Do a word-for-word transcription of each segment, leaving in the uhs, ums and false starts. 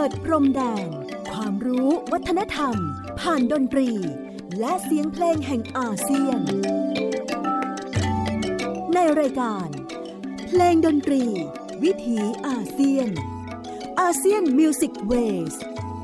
ดพรมแดนความรู้วัฒนธรรมผ่านดนตรีและเสียงเพลงแห่งอาเซียนในรายการเพลงดนตรีวิถีอาเซียนอาเซียนมิวสิกเวส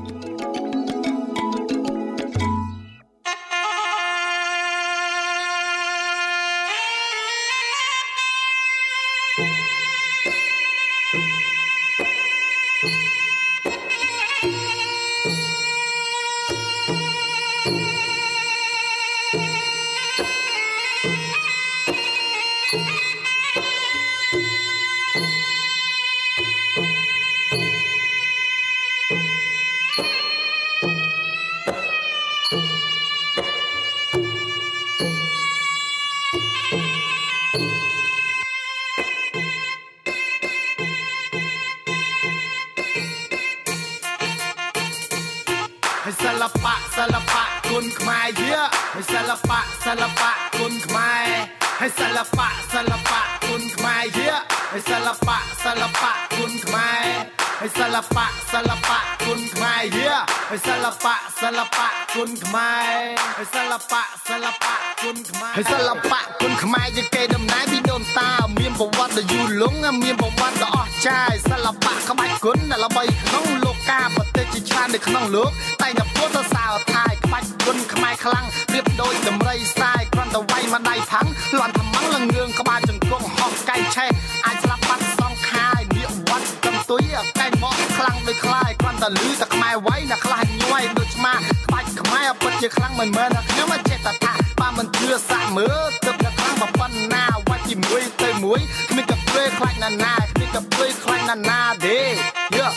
ศิลปะศิลปะคุณខ្មែរเยอะให้ศิลปะศิลปะคุณខ្មែរให้ศิลปะศิลปะคุณខ្មែរเยอะให้ศิลปะศิลปะคุณខ្មែរให้ศิลปะศิลปะคุณខ្មែរเยอะให้ศิลปะศิลปะคุณខ្មែរให้ศิលបៈศิលបៈគុណខ្មែរให้ศิលបៈគុណខ្មែរជាកេរដំណែលពីដូនតាមានប្រវត្តិដ៏យូរលង់មានប្រវត្តិដ៏អស្ចារ្យសិល្បៈក្បាច់គុណដែលល្បីក្នុងលោកកាប្រទេសជាច្រើននៅក្នុងលោកតែតែពុទ្ធសាសនាក្បាច់គុណខ្មែរខ្លាំងប្រៀបដូចដំរីសាយគ្រាន់តែវាយមកដៃផាំងលន់ថ្មងលងឿងក្បាលចង្គង់ហោះកែងឆេះអាចស្លាប់បាត់សងខាយនាគវត្តកំទុយកែងមកខ្លាំងដូចខ្លាយគ្រាន់តែលឺតែខ្មែរវាយណាខ្លះញ័យដូចឆ្មាក្បាច់ខ្មែរពិតជាខ្លាំងមិនមែនខ្ញុំមិនចេះតែថាបើមិនជឿសាក់មើលទឹកតែខ្លាំងប៉ុណ្ណាវាច់ជាមួយទៅមួយគ្មានកាព្រើខ្លាចណាណាគ្មានកាព្រើខ្លាចណាណាទេយេ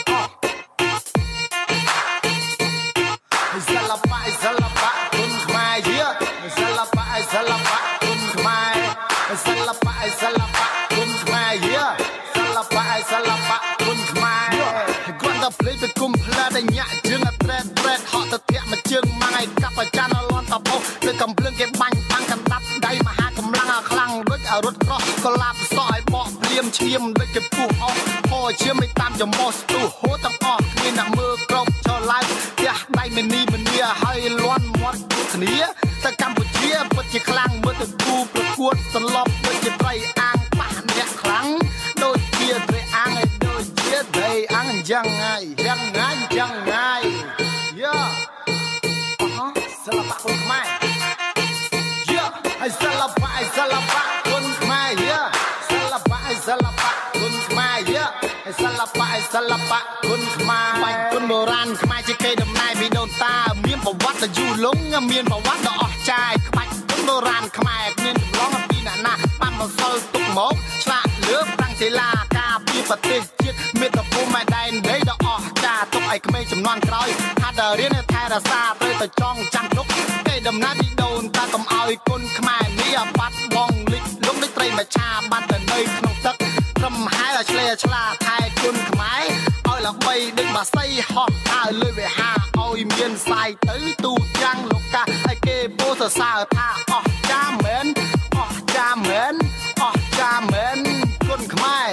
សិល្បៈសិល្បៈគុណខ្មែរយេសិល្បៈសិល្បៈគុណខ្មែរសិល្បៈសិល្បៈគុណខ្មែរយេសិល្បៈសិល្បៈគុណខ្មែរគាត់ទៅភ្លេចទៅគុំផ្លែតែញាក់ជើងអត្រេតត្រេតហក់ទៅធាក់មួយជើងម៉ាំងឯកាប់អាចារ្យលន់តពោលើកំភ្លើងគេបាញ់តាំងកណ្ដាប់ដៃមហាកម្លាំងខ្លាំងដូចរត់ក្រោះកលាបសក់ឲ្យបកភ្លៀមឈាមដូចជាពុះអស់ហោឈាមមិនតាមចំមោះស្ទុះហូតទាំងអស់គ្មានអ្នកមើលក្រោបចោលឡើងផ្ទះដៃមនីមនីហើយលន់មាត់គ្នាតែកម្ពុជាពិតជាខ្លាំងមើលទៅគូប្រកួតសន្លប់ដូចជាត្រីអាងប៉ះអ្នកខ្លាំងដូចជាត្រីអាងឯដូចជាត្រីអាងយ៉ាងងាយយ៉ាងងាយយ៉ាងងាយយ៉ាអូហ៎សិល្បៈគុណខ្មែរយ៉ាហើយសិល្បៈសិល្បៈគុណខ្មែរយ៉ាសិល្បៈសិល្បៈគុណខ្មែរយ៉ាហើយសិល្បៈសិល្បៈគុណខ្មែរបាច់គុណបុរាណខ្មែរជាកេរដំណែលពីដូនតាមានប្រវត្តិដ៏យូរលង់មានប្រវត្តិដ៏អស្ចារ្យក្បាច់គុណបុរាណខ្មែរគ្មានចម្លងអំពីអ្នកណាបានបន្សល់ទុកមកឆ្លាក់លើប្រាំងសិលាការពីប្រទេសជាតិមេត្តាភូមិដែនដីដ៏អស្ចារ្យទុកឲ្យក្មេងចំនួនក្រោយថាដល់រៀនថែរក្សាត្រូវតែចងចាំទុកគេដំណើរពីដូនតាកុំឲ្យគុណខ្មែរនេះបាត់បង់លិចលងដូចត្រីមច្ឆាបាត់ទៅនៅក្នុងទឹកត្រឹមហែឲ្យឆ្លេឆ្លាថែគុណខ្មែរឲ្យល្បីដូចបាសីហោះហើរលើវិហារឲ្យមានសាយទៅទូទាំងលោកកាឲ្យគេពោលសរសើរថាអស្ចារ្យមែនអស្ចារ្យមែនអស្ចារ្យមែនគុណខ្មែរ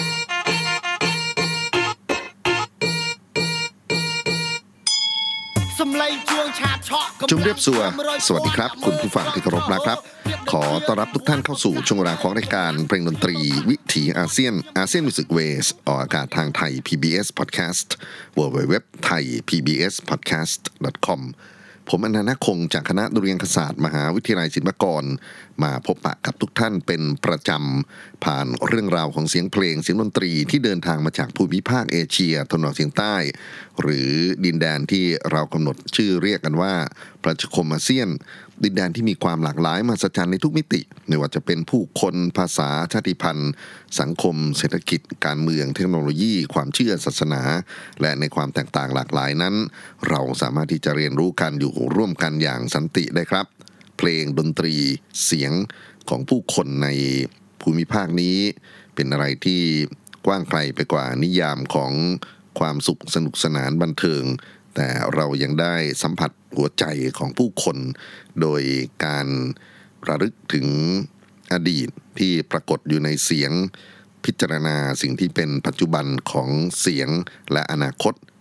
ជម្រាបសួរสวัสดีครับคุณผู้ฟังที่เคารพนะครับขอต้อนรับทุกท่านเข้าสู่ช่วงเวลาของรายการเพลงดนตรีวิถีอาเซียนอาเซียนมิวสิกเวสออกอากาศทางไทย พี บี เอส Podcast ดับเบิลยู ดับเบิลยู ดับเบิลยู ดอท ไทย พี บี เอส พอดแคสต์ ดอท คอม ผมอนันต์คงจากคณะดุริยางคศาสตร์มหาวิทยาลัยศิลปากรมาพบปะกับทุกท่านเป็นประจำผ่านเรื่องราวของเสียงเพลงเสียงดนตรีที่เดินทางมาจากภูมิภาคเอเชียตะวันออกเฉียงใต้หรือดินแดนที่เรากำหนดชื่อเรียกกันว่าประชาคมอาเซียนดินแดนที่มีความหลากหลายมหัศจรรย์ในทุกมิติไม่ว่าจะเป็นผู้คนภาษาชาติพันธุ์สังคมเศรษฐกิจการเมืองเทคโนโลยีความเชื่อศาสนาและในความแตกต่างหลากหลายนั้นเราสามารถที่จะเรียนรู้กันอยู่ร่วมกันอย่างสันติได้ครับเพลงดนตรีเสียงของผู้คนในภูมิภาคนี้เป็นอะไรที่กว้างไกลไปกว่านิยามของความสุขสนุกสนานบันเทิงแต่เรายังได้สัมผัสหัวใจของผู้คนโดยการระลึกถึงอดีตที่ปรากฏอยู่ในเสียงพิจารณาสิ่งที่เป็นปัจจุบันของเสียงและอนาคต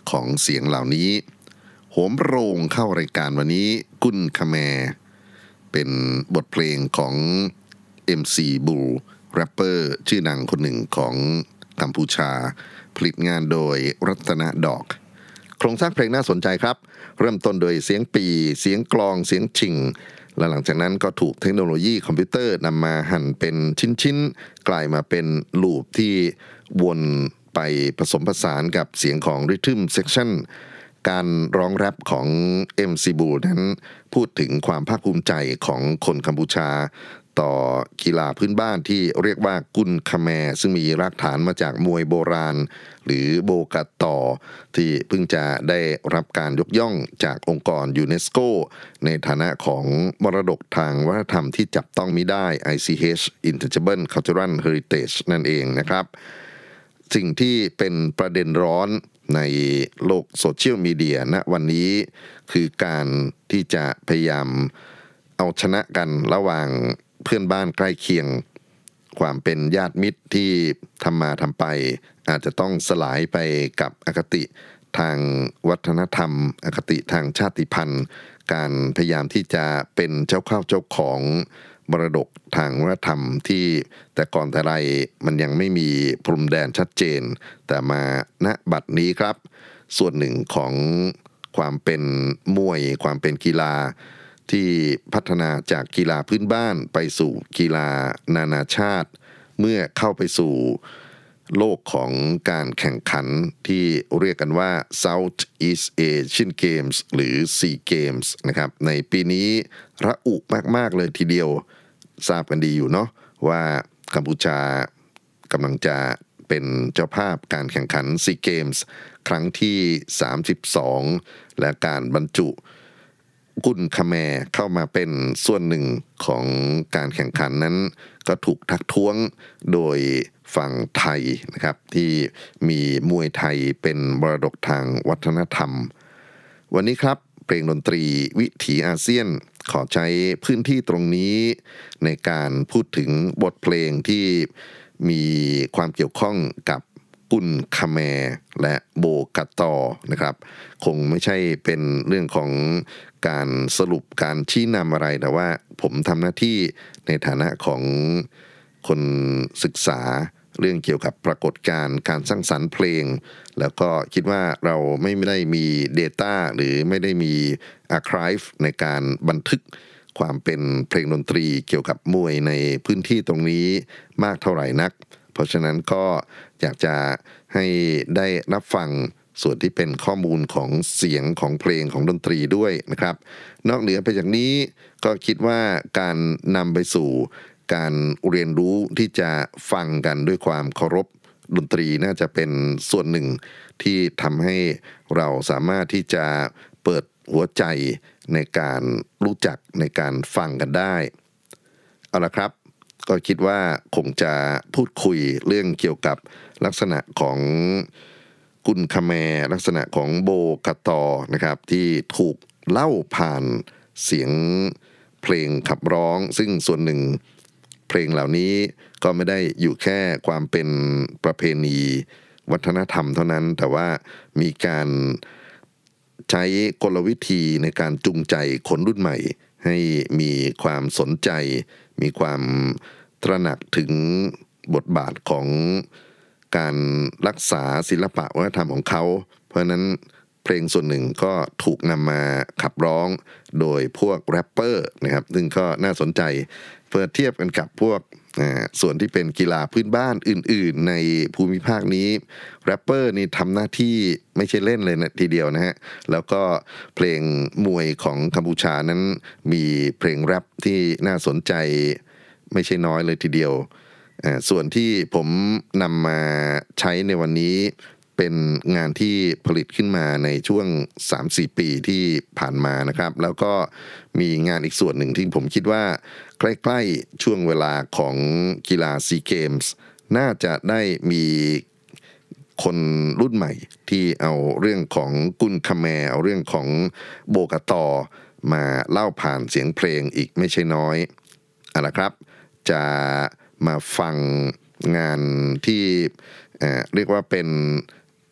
ของเสียงเหล่านี้โหมโรงเข้ารายการวันนี้กุนคาแมเป็นบทเพลงของ เอ็ม ซี Bull แรปเปอร์ชื่อดังคนหนึ่งของกัมพูชาผลิตงานโดยรัตนดอกโครงสร้างเพลงน่าสนใจครับเริ่มต้นโดยเสียงปีเสียงกลองเสียงชิงและหลังจากนั้นก็ถูกเทคโนโลยีคอมพิวเตอร์นำมาหั่นเป็นชิ้นๆกลายมาเป็นลูปที่วนไปผสมผสานกับเสียงของ Rhythm Section การร้องแรปของ เอ็ม ซี Bull นั้นพูดถึงความภาคภูมิใจของคนกัมพูชาต่อกีฬาพื้นบ้านที่เรียกว่ากุนคาแมซึ่งมีรากฐานมาจากมวยโบราณหรือโบกัตต่อที่เพิ่งจะได้รับการยกย่องจากองค์กรยูเนสโกในฐานะของมรดกทางวัฒนธรรมที่จับต้องมิได้ ไอ ซี เอช Intangible Cultural Heritage นั่นเองนะครับสิ่งที่เป็นประเด็นร้อนในโลกโซเชียลมีเดียณวันนี้คือการที่จะพยายามเอาชนะกันระหว่างเพื่อนบ้านใกล้เคียงความเป็นญาติมิตรที่ทำมาทำไปอาจจะต้องสลายไปกับอคติทางวัฒนธรรมอคติทางชาติพันธุ์การพยายามที่จะเป็นเจ้าเข้าเจ้าของมรดกทางวัฒนธรรมที่แต่ก่อนแต่ไรมันยังไม่มีพรมแดนชัดเจนแต่มาณบัดนี้ครับส่วนหนึ่งของความเป็นมวยความเป็นกีฬาที่พัฒนาจากกีฬาพื้นบ้านไปสู่กีฬานานาชาติเมื่อเข้าไปสู่โลกของการแข่งขันที่เรียกกันว่า South East Asian Games หรือ ซี Games นะครับในปีนี้ระอุมากๆเลยทีเดียวทราบกันดีอยู่เนาะว่ากัมพูชากำลังจะเป็นเจ้าภาพการแข่งขัน ซี Games ครั้งที่สามสิบสองและการบรรจุกุนคาแมเข้ามาเป็นส่วนหนึ่งของการแข่งขันนั้นก็ถูกทักท้วงโดยฝั่งไทยนะครับที่มีมวยไทยเป็นมรดกทางวัฒนธรรมวันนี้ครับเพลงดนตรีวิถีอาเซียนขอใช้พื้นที่ตรงนี้ในการพูดถึงบทเพลงที่มีความเกี่ยวข้องกับกุนคาแมและโบกัตตอนะครับคงไม่ใช่เป็นเรื่องของการสรุปการชี้นำอะไรแต่ว่าผมทำหน้าที่ในฐานะของคนศึกษาเรื่องเกี่ยวกับปรากฏการณ์การสร้างสรรค์เพลงแล้วก็คิดว่าเราไม่ได้มี data หรือไม่ได้มี archive ในการบันทึกความเป็นเพลงดนตรีเกี่ยวกับมวยในพื้นที่ตรงนี้มากเท่าไหร่นักเพราะฉะนั้นก็อยากจะให้ได้รับฟังส่วนที่เป็นข้อมูลของเสียงของเพลงของดนตรีด้วยนะครับนอกเหนือไปจากนี้ก็คิดว่าการนำไปสู่การเรียนรู้ที่จะฟังกันด้วยความเคารพดนตรีน่าจะเป็นส่วนหนึ่งที่ทำให้เราสามารถที่จะเปิดหัวใจในการรู้จักในการฟังกันได้เอาละครับก็คิดว่าคงจะพูดคุยเรื่องเกี่ยวกับลักษณะของกุนคาแมลักษณะของโบกัตตอนะครับที่ถูกเล่าผ่านเสียงเพลงขับร้องซึ่งส่วนหนึ่งเพลงเหล่านี้ก็ไม่ได้อยู่แค่ความเป็นประเพณีวัฒนธรรมเท่านั้นแต่ว่ามีการใช้กลวิธีในการจูงใจคนรุ่นใหม่ให้มีความสนใจมีความตระหนักถึงบทบาทของการรักษาศิลปะวัฒนธรรมของเขาเพราะฉะนั้นเพลงส่วนหนึ่งก็ถูกนำมาขับร้องโดยพวกแรปเปอร์นะครับซึ่งก็น่าสนใจเพื่อเทียบกันกับพวกส่วนที่เป็นกีฬาพื้นบ้านอื่นๆในภูมิภาคนี้แรปเปอร์นี่ทำหน้าที่ไม่ใช่เล่นเลยนะทีเดียวนะฮะแล้วก็เพลงมวยของกัมพูชานั้นมีเพลงแรปที่น่าสนใจไม่ใช่น้อยเลยทีเดียวส่วนที่ผมนำมาใช้ในวันนี้เป็นงานที่ผลิตขึ้นมาในช่วง สามถึงสี่ ปีที่ผ่านมานะครับแล้วก็มีงานอีกส่วนหนึ่งที่ผมคิดว่าใกล้ๆช่วงเวลาของกีฬาซีเกมส์น่าจะได้มีคนรุ่นใหม่ที่เอาเรื่องของกุนคาแมเอาเรื่องของโบกตอมาเล่าผ่านเสียงเพลงอีกไม่ใช่น้อยเอาละครับจะมาฟังงานที่เอ่อเรียกว่าเป็น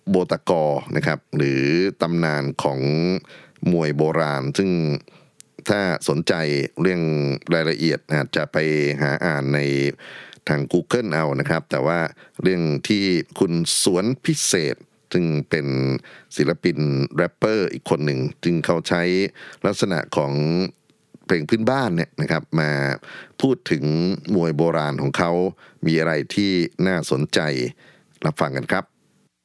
โบตะกอนะครับหรือตำนานของมวยโบราณซึ่งถ้าสนใจเรื่องรายละเอียดอาจจะไปหาอ่านในทาง Google เอานะครับแต่ว่าเรื่องที่คุณสวนพิเศษซึ่งเป็นศิลปินแรปเปอร์อีกคนหนึ่งจึงเขาใช้ลักษณะของเพลงพื้นบ้านเนี่ยนะครับมาพูดถึงมวยโบราณของเขามีอะไรที่น่าสนใจรับฟังกันครับ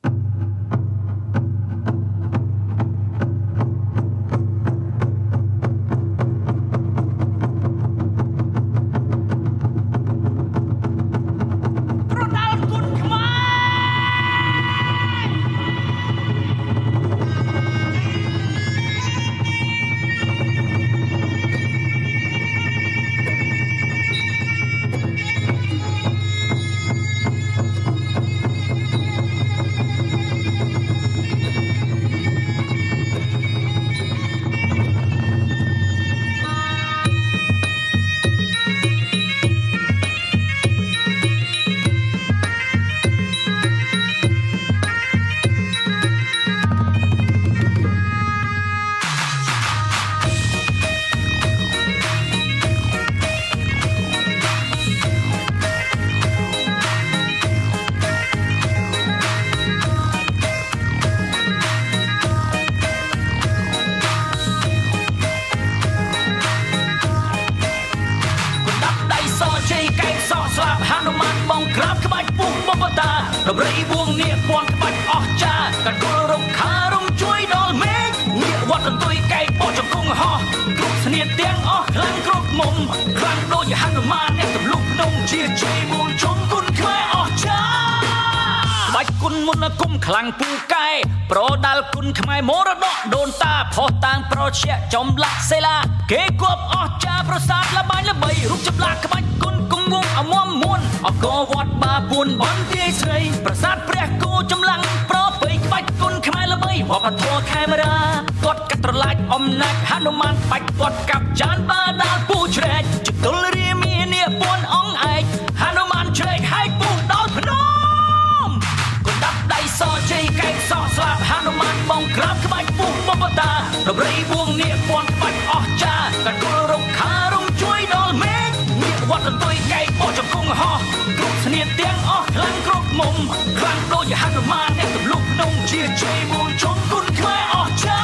រៃវងនេះពណ៌ក្បាច់អស់ចាកាត់គល់រំខារំជួយដល់មេឃងាកវត្តកន្ទុយកែកបោះចង្គង់ហោះគ្រប់ស្នៀតទាំងអស់ខ្លាំងគ្រប់មុំខ្លាំងដូចហនុមានអ្នកទម្លុះភ្នំជាជ័យមូលជុំគុណខ្មែរអស់ចាបាច់គុណមុនគុំខ្លាំងពូកែប្រដាល់គុណខ្មែរមរតកដូនតាផុសតាំងប្រជាចំឡាក់សេឡាគេគប់អស់ចាប្រសាទលបាញ់ល្បីរូបចម្លាក់ក្បាច់គុណគង់វងអមមមួនអកវត្តបាពួនបន្ទាយស្រីប្រាសាទព្រះគោចម្លាំងប្របីក្បាច់គុណខ្មែរល្បីវប្បធម៌ខេមរាគាត់កាត់ត្រឡាចអំណាចហនុមានបាច់គាត់កាប់ចានបាដាលពូជ្រែកជទល់រាមានាពួនអង្គឯកហនុមានជ្រែកហើយពូដល់ភ្នំកណ្ដាប់ដៃសជ័យកែកសក់ស្លាប់ហនុមានបងក្រាបក្បាច់ពូបបតារំរៃវងនាពួនបាច់អស់ចាកាត់គល់រំខារំជួយដល់មេឃងាកវត្តកន្ទុយកែកបោះចង្គង់ហោះគ្រប់ស្នៀតទាំងអស់ខ្លាំងគ្រប់មុំខ្លាំងដូចហនុមានអ្នកទម្លុះភ្នំជាជ័យមូលជុំគុណខ្មែរអស់ចា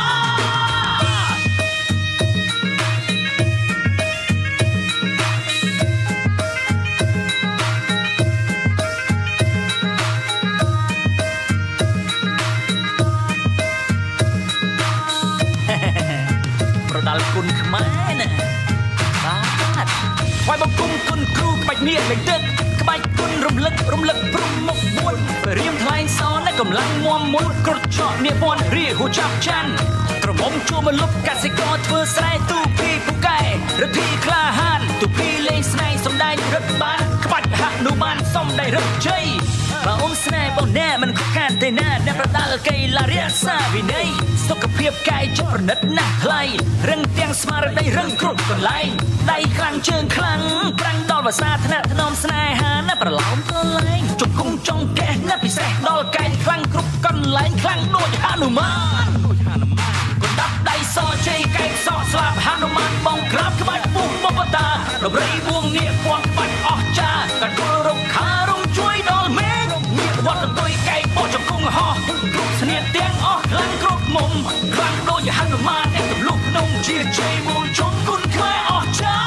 ប្រដាល់គុណខ្មែរណាបាទថ្វាយបង្គំគុណគ្រូក្បាច់នេះលេងទឹកក្បាច់គុណរំលឹករំលឹកព្រំមុខមួយរៀមថ្លែងសរនៅកម្លាំងមមមុនក្រត់ចក់នាពន់រីហូចាប់ច័ន្ទក្រមុំជួមកលុបកសិករធ្វើស្រែទូពីពូកែរទ្ធីក្លាហានទូពីលេងស្នេហ៍សំដែងរឹកបានក្បាច់ហនុមានសំដែងរឹកជ័យបើអូនស្នេហ៍បងណែមិនខកខានទេណាអ្នកប្រដាល់កៃឡារក្សាវិន័យសុខភាពកាយចិត្តប្រណិតណាស់ថ្លៃរឹងទាំងស្មារតីរឹងគ្រប់កន្លែងដៃខ្លាំងជើងខ្លាំងប្រាំងដល់ភាសាថ្នាក់ថ្នមស្នេហាណាប្រឡោមទៅលែងជង្គង់ចង់កេះណាពិសេសដល់កែងខ្លាំងគ្រប់កន្លែងខ្លាំងដូចហនុមានដូចហនុមានកណ្ដាប់ដៃសជ័យកែកសក់ស្លាប់ហនុមានបងក្រាបក្បាច់ពុះបបតារំរៃវងនាគួនក្បាច់អស់ចាកាត់គល់រំខារំជួយដល់មេឃងាកវត្តកន្ទុយកែកបោះចង្គង់ហោះគ្រប់ស្នៀតទាំងអស់ខ្លាំងគ្រប់មុំខ្លាំងដូចហនុមានអ្នកទម្លុះភ្នំជាជ័យមូលជុំគុណខ្មែរអស់ចា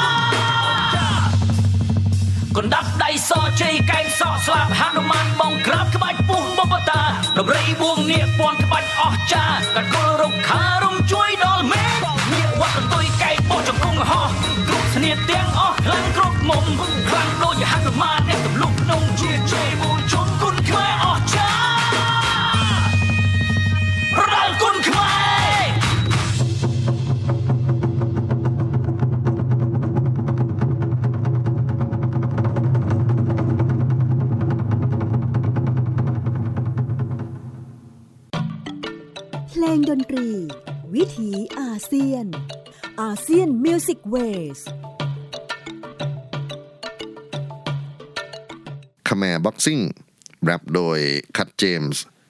កណ្ដាប់ដៃសជ័យកែងសក់ស្លាប់ហនុមានបងក្រាបក្បាច់ពុះបបតារំរៃវងនាគពួនក្បាច់អស់ចាកាត់គល់រំខារំជួយដល់មេឃងាកវត្តកន្ទុយកែកបោះចង្គង់ហោះគ្រប់ស្នៀតទាំងអស់ខ្លាំងគ្រប់មុំខ្លាំងដូចហនុមានអ្នកទម្លុះភ្នំជាជ័យមូលជុំគុណខ្មែរអស់ចាប្រដាល់គុណខ្មែរเพลงดนตรีวิถีอาเซียนอาเซียนมิวสิกเวสคาแมร์บ็อกซิ่งแรปโดยคัตเจมส์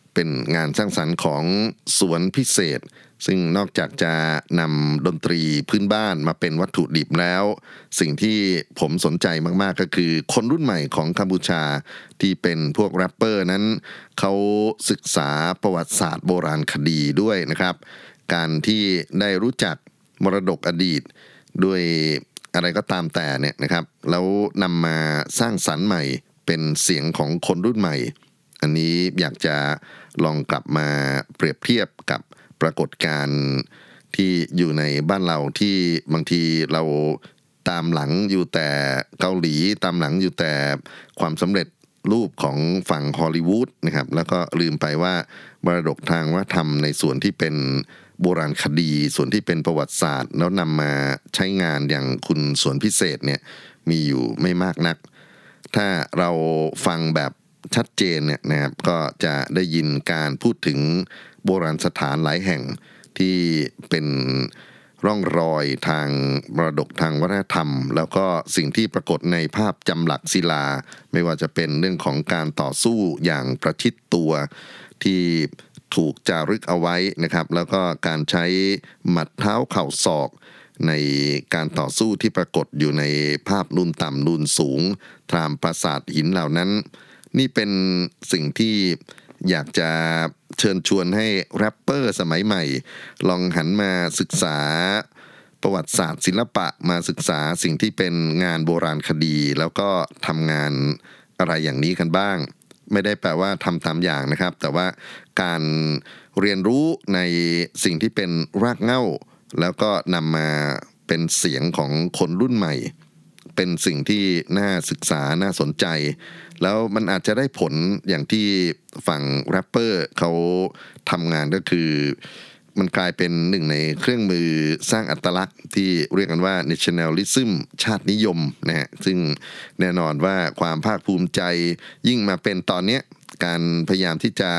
เป็นงานสร้างสรรค์ของสวนพิเศษซึ่งนอกจากจะนำดนตรีพื้นบ้านมาเป็นวัตถุดิบแล้วสิ่งที่ผมสนใจมากๆก็คือคนรุ่นใหม่ของกัมพูชาที่เป็นพวกแรปเปอร์นั้นเขาศึกษาประวัติศาสตร์โบราณคดีด้วยนะครับการที่ได้รู้จักมรดกอดีตด้วยอะไรก็ตามแต่เนี่ยนะครับแล้วนำมาสร้างสรรค์ใหม่เป็นเสียงของคนรุ่นใหม่อันนี้อยากจะลองกลับมาเปรียบเทียบกับปรากฏการณ์ที่อยู่ในบ้านเราที่บางทีเราตามหลังอยู่แต่เกาหลีตามหลังอยู่แต่ความสำเร็จรูปของฝั่งฮอลลีวูดนะครับแล้วก็ลืมไปว่ามรดกทางวัฒนธรรมในส่วนที่เป็นโบราณคดีส่วนที่เป็นประวัติศาสตร์แล้วนำมาใช้งานอย่างคุณสวนพิเศษเนี่ยมีอยู่ไม่มากนักถ้าเราฟังแบบชัดเจนเนี่ยนะครับก็จะได้ยินการพูดถึงโบราณสถานหลายแห่งที่เป็นร่องรอยทางมรดกทางวัฒนธรรมแล้วก็สิ่งที่ปรากฏในภาพจำหลักศิลาไม่ว่าจะเป็นเรื่องของการต่อสู้อย่างประชิดตัวที่ถูกจารึกเอาไว้นะครับแล้วก็การใช้หมัดเท้าเข่าศอกในการต่อสู้ที่ปรากฏอยู่ในภาพนูนต่ำนูนสูงตามปราสาทหินเหล่านั้นนี่เป็นสิ่งที่อยากจะเชิญชวนให้แรปเปอร์สมัยใหม่ลองหันมาศึกษาประวัติศาสตร์ศิลปะมาศึกษาสิ่งที่เป็นงานโบราณคดีแล้วก็ทำงานอะไรอย่างนี้กันบ้างไม่ได้แปลว่าทำตามอย่างนะครับแต่ว่าการเรียนรู้ในสิ่งที่เป็นรากเหง้าแล้วก็นำมาเป็นเสียงของคนรุ่นใหม่เป็นสิ่งที่น่าศึกษาน่าสนใจแล้วมันอาจจะได้ผลอย่างที่ฝั่งแรปเปอร์เขาทำงานก็คือมันกลายเป็นหนึ่งในเครื่องมือสร้างอัตลักษณ์ที่เรียกกันว่า nationalism ชาตินิยมนะฮะซึ่งแน่นอนว่าความภาคภูมิใจยิ่งมาเป็นตอนนี้การพยายามที่จะ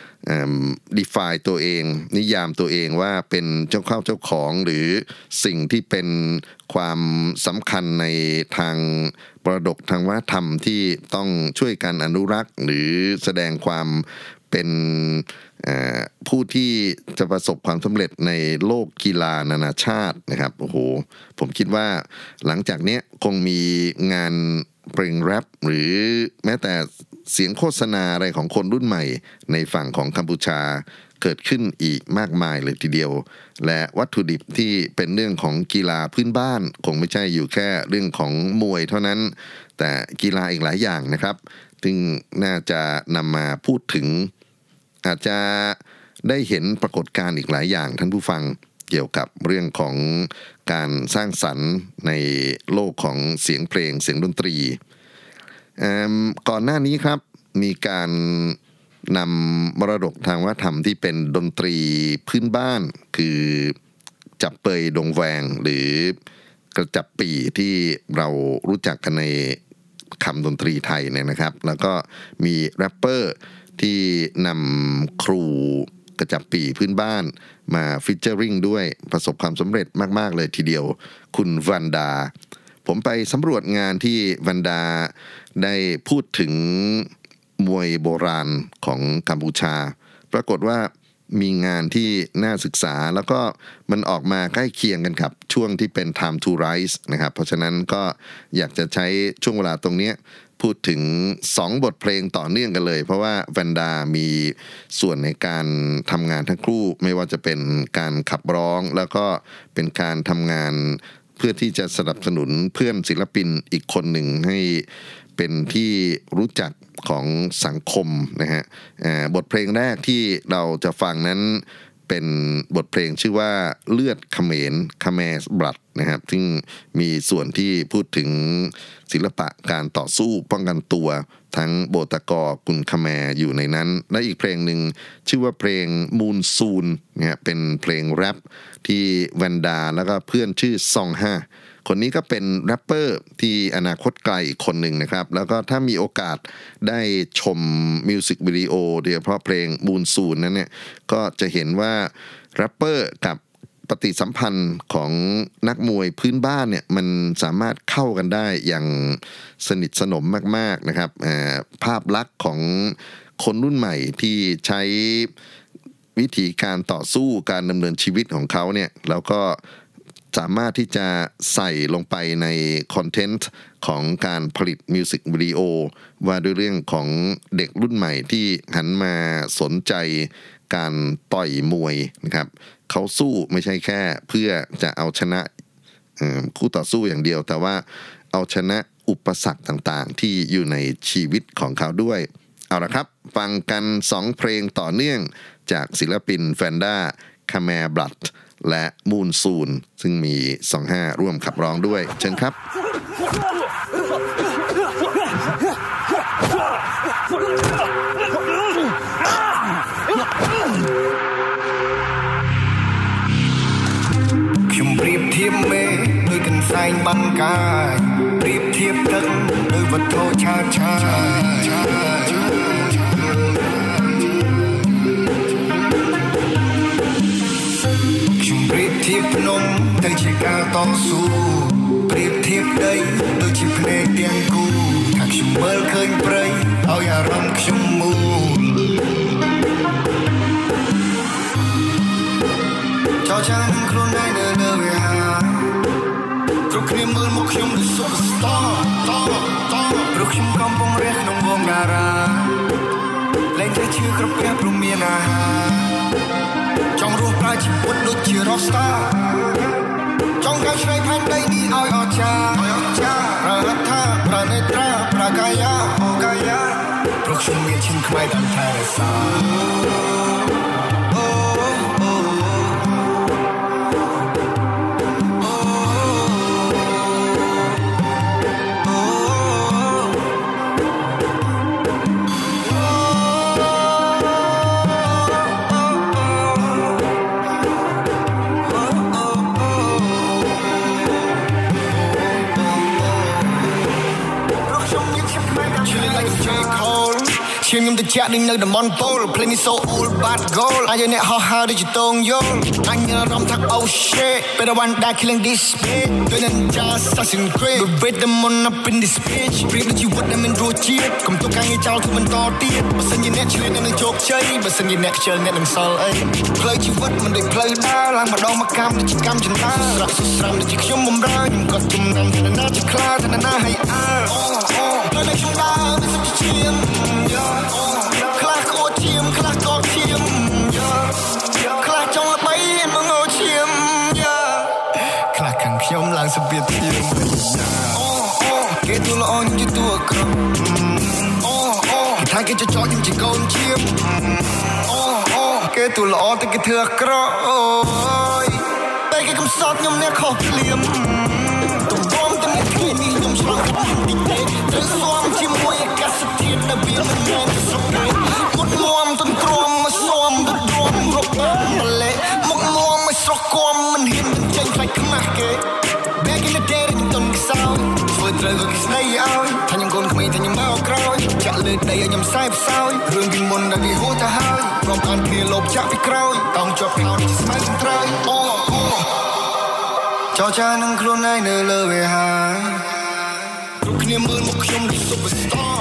define ตัวเองนิยามตัวเองว่าเป็นเจ้าเข้าเจ้าของหรือสิ่งที่เป็นความสำคัญในทางมรดกทางวัฒนธรรมที่ต้องช่วยกันอนุรักษ์หรือแสดงความเป็นผู้ที่จะประสบความสำเร็จในโลกกีฬานานาชาตินะครับโอ้โหผมคิดว่าหลังจากนี้คงมีงานเพลงแรปหรือแม้แต่เสียงโฆษณาอะไรของคนรุ่นใหม่ในฝั่งของกัมพูชาเกิดขึ้นอีกมากมายเลยทีเดียวและวัตถุดิบที่เป็นเรื่องของกีฬาพื้นบ้านคงไม่ใช่อยู่แค่เรื่องของมวยเท่านั้นแต่กีฬาอีกหลายอย่างนะครับซึ่งน่าจะนำมาพูดถึงอาจจะได้เห็นปรากฏการณ์อีกหลายอย่างท่านผู้ฟังเกี่ยวกับเรื่องของการสร้างสรรค์ในโลกของเสียงเพลงเสียงดนตรีก่อนหน้านี้ครับมีการนำมรดกทางวัฒนธรรมที่เป็นดนตรีพื้นบ้านคือจับเปยดงแวงหรือกระจับปีที่เรารู้จักกันในคำดนตรีไทยเนี่ยนะครับแล้วก็มีแรปเปอร์ที่นำครูกระจับปีพื้นบ้านมาฟีเจอริงด้วยประสบความสำเร็จมากๆเลยทีเดียวคุณวันดาผมไปสำรวจงานที่วันดาได้พูดถึงมวยโบราณของกัมพูชาปรากฏว่ามีงานที่น่าศึกษาแล้วก็มันออกมาใกล้เคียงกันครับช่วงที่เป็น time to rise นะครับเพราะฉะนั้นก็อยากจะใช้ช่วงเวลาตรงนี้พูดถึงสองบทเพลงต่อเนื่องกันเลยเพราะว่าแวนดามีส่วนในการทำงานทั้งคู่ไม่ว่าจะเป็นการขับร้องแล้วก็เป็นการทำงานเพื่อที่จะสนับสนุนเพื่อนศิลปินอีกคนหนึ่งให้เป็นที่รู้จักของสังคมนะฮะบทเพลงแรกที่เราจะฟังนั้นเป็นบทเพลงชื่อว่าเลือดเขมร Khmer's Blood นะครับซึ่งมีส่วนที่พูดถึงศิลปะการต่อสู้ป้องกันตัวทั้งโบตกอกุนคแมร์อยู่ในนั้นและอีกเพลงหนึ่งชื่อว่าเพลงมูนซูนเนี่ยเป็นเพลงแรปที่แวนดาแล้วก็เพื่อนชื่อซองห้าคนนี้ก็เป็นแรปเปอร์ที่อนาคตไกลอีกคนหนึ่งนะครับแล้วก็ถ้ามีโอกาสได้ชมมิวสิกวิดีโอโดยเฉพาะเพลงมูนซูนนั้นเนี่ยก็จะเห็นว่าแรปเปอร์กับปฏิสัมพันธ์ของนักมวยพื้นบ้านเนี่ยมันสามารถเข้ากันได้อย่างสนิทสนมมากๆนะครับภาพลักษณ์ของคนรุ่นใหม่ที่ใช้วิธีการต่อสู้การดำเนินชีวิตของเขาเนี่ยแล้วก็สามารถที่จะใส่ลงไปในคอนเทนต์ของการผลิตมิวสิกวิดีโอว่าด้วยเรื่องของเด็กรุ่นใหม่ที่หันมาสนใจการต่อยมวยนะครับเขาสู้ไม่ใช่แค่เพื่อจะเอาชนะคู่ต่อสู้อย่างเดียวแต่ว่าเอาชนะอุปสรรคต่างๆที่อยู่ในชีวิตของเขาด้วยเอาละครับฟังกันสองเพลงต่อเนื่องจากศิลปินแฟนด้าคาแมร์บลัดและมูนซูนซึ่งมีสองห้าร่วมขับร้องด้วยเชิญครับខ្ញុំប្រៀបធៀបមេដូចកន្សែងបាំងកាយប្រៀបធៀបទឹកដូចវត្ថុឆាតឆាយខ្ញុំប្រៀបធៀបភ្នំទៅជាការតស៊ូប្រៀបធៀបដីដូចជាភ្នែកទាំងគូថាខ្ញុំមើលឃើញព្រៃឲ្យអារម្មណ៍ខ្ញុំមូលចោលចាំខ្លួនឯងនៅលើវាហាគ្រប់គ្នាមើលមកខ្ញុំដូច Superstar តតតព្រោះខ្ញុំកំពុងរះក្នុងវងតារាលែងតែឈឺគ្រប់ពេលព្រមមានអាហារចង់រស់ប្រើជីវិតដូចជា Rockstar ចង់កែច្នៃផែនដីនេះឲ្យអស្ចារ្យឲ្យអស្ចារ្យប្រហិតថាប្រណិត្រាប្រកាយាអូកាយាព្រោះខ្ញុំមានឈាមខ្មែរតាមថែរក្សាឈាមខ្ញុំទៅចាក់នឹងនៅតំបន់ពូល Play me so old bad goal អាយអ្នកហោះហើរដូចជាតងយល់អញអារម្មណ៍ថា oh shit better one that killing this bitch ដូច Ninja Assassin Creed with them on up in this bitch ព្រៀបដូចជីវិតដែលមានរសជាតិកុំទុកការងារចោលធ្វើបន្តទៀតបើសិនជាអ្នកឆ្លៀតអ្នកនឹងជោគជ័យបើសិនជាអ្នកខ្ជិលអ្នកនឹងសល់អីផ្លូវជីវិតមិនដូចផ្លូវដើរឡើងម្ដងមកកម្មដូចជាកម្មចិន្តាស្រក់ស្រាំដូចជាខ្ញុំបំរើខ្ញុំក៏ជំនំទៅណាជាខ្លាទៅណាឲ្យអើអូអូផ្លូវដែលខ្ញុំដើរមិនសុខជាឈាមខ្លះក៏ឈាមខ្លះក៏ឈាមខ្លះចង់ល្បីមកងឈាមខ្លះខាងខ្ញុំឡើងសពាតឈាមអូអូគេទូល្អខ្ញុំជាតួអាក្រក់អូអូគេថាគេចចោលខ្ញុំជាកូនឈាមអូអូគេទូល្អតែគេធ្វើអាក្រក់អូយតែគេកំសត់ខ្ញុំអ្នកខុសភ្លាមទំរំតែមកគ្នានេះខ្ញុំឆ្លងកាត់ទីទេត្រូវស្វាមជាមួយអាកាសធាតុនៅវាមិនមែនទៅសុខទេមុតមុំទន្ទ្រាំមកស្វាមទៅទ្រាំរកបានម្លេះមកមុំមកស្រស់គំមិនហ៊ានមិនចេញខ្លាចខ្មាស់គេ Back in the day ខ្ញុំទុនខ្សោយធ្វើត្រូវក៏គេស្ដីឲ្យថាខ្ញុំកូនក្មេងតែខ្ញុំមកក្រោយចាក់លើដីឲ្យខ្ញុំខ្សែផ្សោយរឿងពីមុនដែលវាហួសទៅហើយព្រមតាមគ្នាលោបចាក់ពីក្រោយតោងជាប់ខោជាស្មៅត្រើយអូអូចោលចានឹងខ្លួនឯងនៅលើវាហើយគ្រប់គ្នាមើលមកខ្ញុំដូច Superstar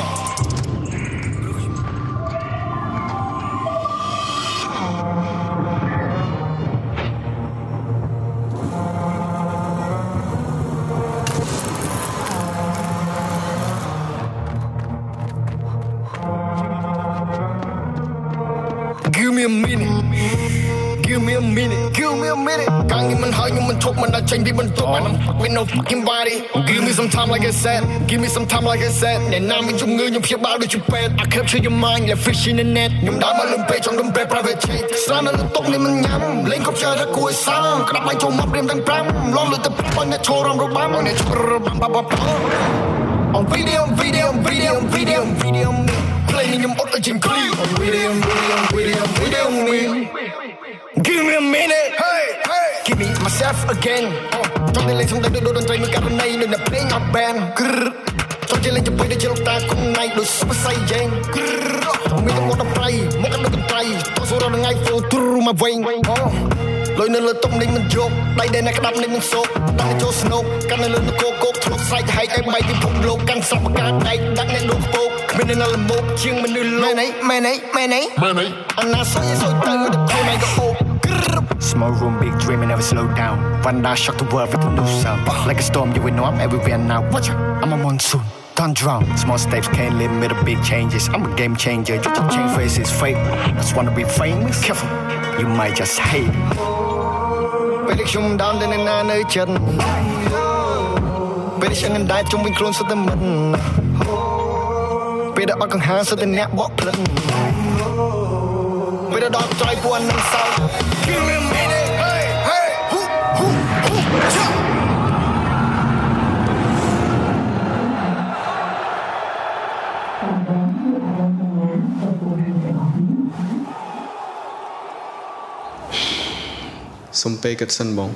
Give me a minute Give me a minute Give me a minute កាងនេះមិនហើយខ្ញុំមិនឈប់មិនដល់ចេញពីបន្ទប់ I'm fucking no fucking body Give me some time like I said Give me some time like I said អ្នកណាមានជំងឺខ្ញុំព្យាបាលដូចជាពេទ្យ I capture your mind like fish in the net ខ្ញុំដើរមកលំពេចចង់រំពេ private jet ស្រានៅលើតុនេះមិនញ៉ាំលេងកុំចើរគួយសាំក្តាប់បាយចូលមកព្រៀមទាំងប្រាំលងលើទៅប៉ុនអ្នកឈររំរបាំអ្នកឈររបាំបាបា On video video video video video Play ខ្ញុំអត់ឲ្យជាង clear On video video video video me Give me a minute hey hey Give me myself again ចង់តែលេងសំដីដូចតន្ត្រីមួយករណីនៅនៅភ្លេងអត់បានចង់តែលេងជាមួយដូចជាលោកតាគុំណៃដូច Super Saiyan មានតែមកដល់ប្រៃមកដល់កន្ត្រៃតោះសូរដល់ថ្ងៃ flow through my vein លុយនៅលើតុនេះមិនយកដៃដែលអ្នកក្តាប់នេះមិនសោកតែចូលស្នូកកាន់នៅលើនគរគោកធ្លុកស្រែកហែកឲ្យបាយពិភពលោកកាន់សពកាដៃដាក់អ្នកលោកពោក bên đây là một chương mình đưa lô này mẹ này mẹ này mẹ này anh na soi soi từ được thôi này có ô Small room, big dream, and never slow down. One day, shock the world with a new sound. Like a storm, you will know I'm everywhere now. Watch out, I'm a monsoon. Don't drown. Small steps can't limit the big changes. I'm a game changer. You just change faces, fake. Just wanna be famous. Careful, you might just hate. Bây giờ chúng down đến nơi nơi chân. Bây giờ chẳng ngần đại trong mình clone số tâm mình. Bây giờ ở càng hàng số tên nét bọc lần. Bây giờ đọc trói buồn năm sau. Give me a minute, hey, hey, hú, hú, hú, chop. Som pe kat san bong.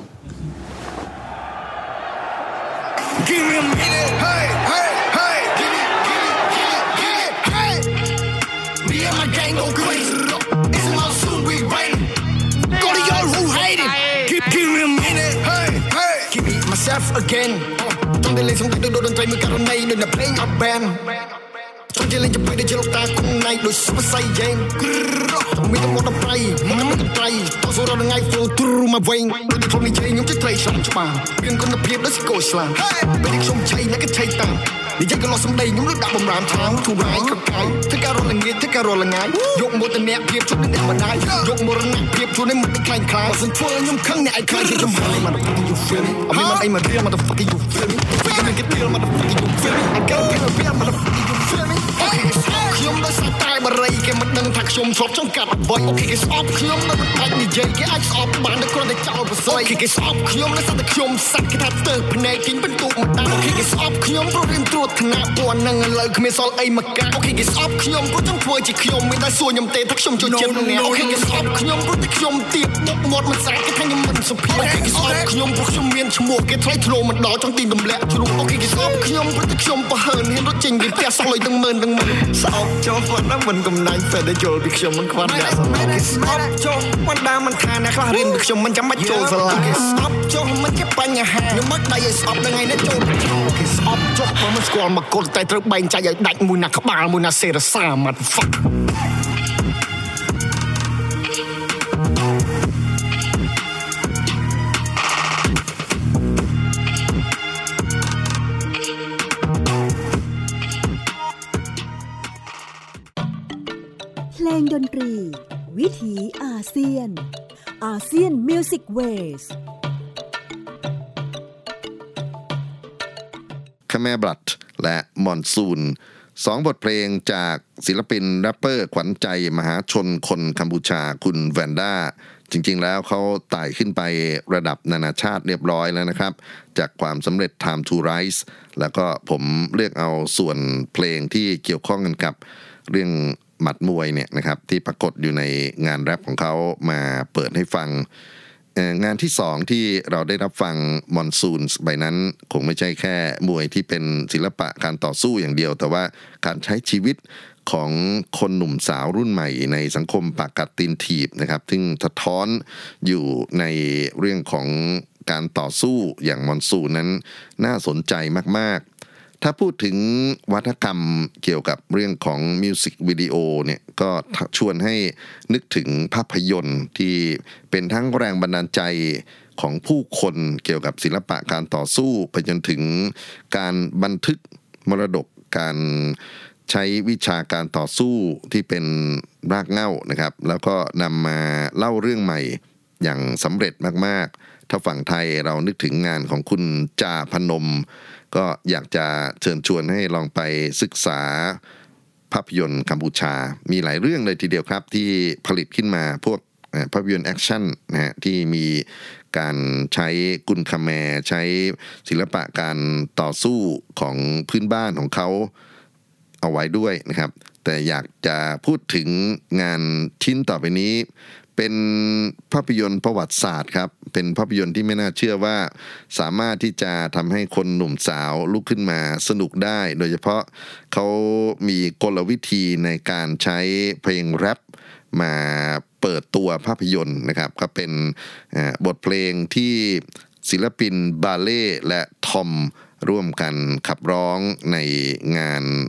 Give me a minute, hey, hey, hey. Give me, give me, give me, give me, hey. Me and my gang go crazy. It's a monsoon, we rain. Go to y'all who hate it. Give, give me a minute, hey, hey. Give me myself again. Trong đây lên xong được đôi đôi tay mới cả đôi này đừng là playing up band. Trong chơi lên cho bay để chơi lộc ta cùng này đôi super saiyan. Miต้อง want to play มันไม่ต้องไกลต่อสู้เราได้ไง flow through my vein โดยที่ผมนี่ใจខ្ញុំจะ play ช่องច្បាស់เรื่องគុណភាពដូចស្គរស្លាពេលនេះខ្ញុំឆៃណាស់ក៏ឆៃតាំងនិយាយក៏លោះសំដីខ្ញុំលើដាក់បំរាមថាងទូរ៉ៃក៏កាយធ្វើការរត់ល្ងាចធ្វើការរត់ល្ងាយយកមកទៅអ្នកភាពជួយអ្នកមិនដែរយកមរណៈភាពជួយឲ្យមិនខ្លាញ់ខ្លាយបើសិនធ្វើខ្ញុំខឹងអ្នកឯងខ្លាចខ្ញុំហើយ motherfucker you feel me អត់មានមិនអីមករៀល motherfucker you feel me ពេលខ្ញុំគេរៀល motherfucker you feel me I gotta feel me motherfucker you feel me ខ្ញុំដោយសារតែបរិយគេមិនដឹងថាខ្ញុំធ្លាប់ចង់កាត់អ្វីអូខេគេស្អប់ខ្ញុំនៅមិនបាច់និយាយគេអាចស្អប់បានតែគ្រាន់តែចោលប្រស័យអូខេគេស្អប់ខ្ញុំដោយសារតែខ្ញុំសាច់គេថាទៅភ្នែកគេបន្ទុកមកដល់អូខេគេស្អប់ខ្ញុំព្រោះរៀនត្រួតថ្នាក់ពណ៌នឹងឥឡូវគ្មានសល់អីមកកាអូខេគេស្អប់ខ្ញុំព្រោះចង់ធ្វើជាខ្ញុំមានតែសួរខ្ញុំទេថាខ្ញុំចូលចិត្តអ្នកអូខេគេស្អប់ខ្ញុំព្រោះតែខ្ញុំទៀតមុខមាត់មិនស្អាតគេថាខ្ញុំមិនសុភាពអូខេគេស្អប់ខ្ញុំព្រោះខ្ញុំមានឈ្មោះគេថ្លៃធ្លោមកដល់ចង់ទីទម្លាក់ជ្រុះអូខេគេស្អប់ខ្ញុំព្រោះតែខ្ញុំប្រហើនហ៊ានរត់ចេញពីផ្ទះសោះលុយទាំងម៉ឺនទាំងម៉ឺនស្អប់ចូលគាត់ណាមិនកំណាញ់ពេលដែលចូលពីខ្ញុំមិនខ្វល់អ្នកស្អប់គេស្អប់ចូលមិនដើមមិនថាអ្នកខ្លះរៀនពីខ្ញុំមិនចាំបាច់ចូលសាលាគេស្អប់ចូលមិនជាបញ្ហាខ្ញុំមិនដៃឲ្យស្អប់នឹងឯនេះចូលគេស្អប់ចុះបើមិនស្គាល់មកកូនតែត្រូវបែងចែកឲ្យដាច់មួយណាក្បាលមួយណាសេរសា motherfucker เพลงดนตรีวิถีอาเซียนอาเซียนมิวสิกเวสคาแมบลัดและมอนซูนสองบทเพลงจากศิลปินแรปเปอร์ขวัญใจมหาชนคนกัมพูชาคุณแวนด้าจริงๆแล้วเขาไต่ขึ้นไประดับนานาชาติเรียบร้อยแล้วนะครับจากความสำเร็จ Time to Rise แล้วก็ผมเลือกเอาส่วนเพลงที่เกี่ยวข้องกันกับเรื่องหมัดมวยเนี่ยนะครับที่ปรากฏอยู่ในงานแรปของเขามาเปิดให้ฟังงานที่สองที่เราได้รับฟังมอนซูนใบนั้นคงไม่ใช่แค่มวยที่เป็นศิลปะการต่อสู้อย่างเดียวแต่ว่าการใช้ชีวิตของคนหนุ่มสาวรุ่นใหม่ในสังคมปากกัดตีนถีบนะครับซึ่งสะท้อนอยู่ในเรื่องของการต่อสู้อย่างมอนซูนนั้นน่าสนใจมากๆถ้าพูดถึงวัฒนกรรมเกี่ยวกับเรื่องของมิวสิกวิดีโอเนี่ยก็ชวนให้นึกถึงภาพยนตร์ที่เป็นทั้งแรงบันดาลใจของผู้คนเกี่ยวกับศิลปะการต่อสู้ไปจนถึงการบันทึกมรดกการใช้วิชาการต่อสู้ที่เป็นรากเหง้านะครับแล้วก็นำมาเล่าเรื่องใหม่อย่างสำเร็จมากๆถ้าฝั่งไทยเรานึกถึงงานของคุณจาพนมก็อยากจะเชิญชวนให้ลองไปศึกษาภาพยนตร์กัมพูชามีหลายเรื่องเลยทีเดียวครับที่ผลิตขึ้นมาพวกภาพยนตร์แอคชั่นนะฮะที่มีการใช้กุนคาแมใช้ศิลปะการต่อสู้ของพื้นบ้านของเขาเอาไว้ด้วยนะครับแต่อยากจะพูดถึงงานชิ้นต่อไปนี้เป็นภาพยนตร์ประวัติศาสตร์ครับเป็นภาพยนตร์ที่ไม่น่าเชื่อว่าสามารถที่จะทำให้คนหนุ่มสาวลุกขึ้นมาสนุกได้โดยเฉพาะเขามีกลวิธีในการใช้เพลงแรปมาเปิดตัวภาพยนตร์นะครับก็เป็นบทเพลงที่ศิลปินบาเล่และทอมร่วมกันขับร้องในงานภ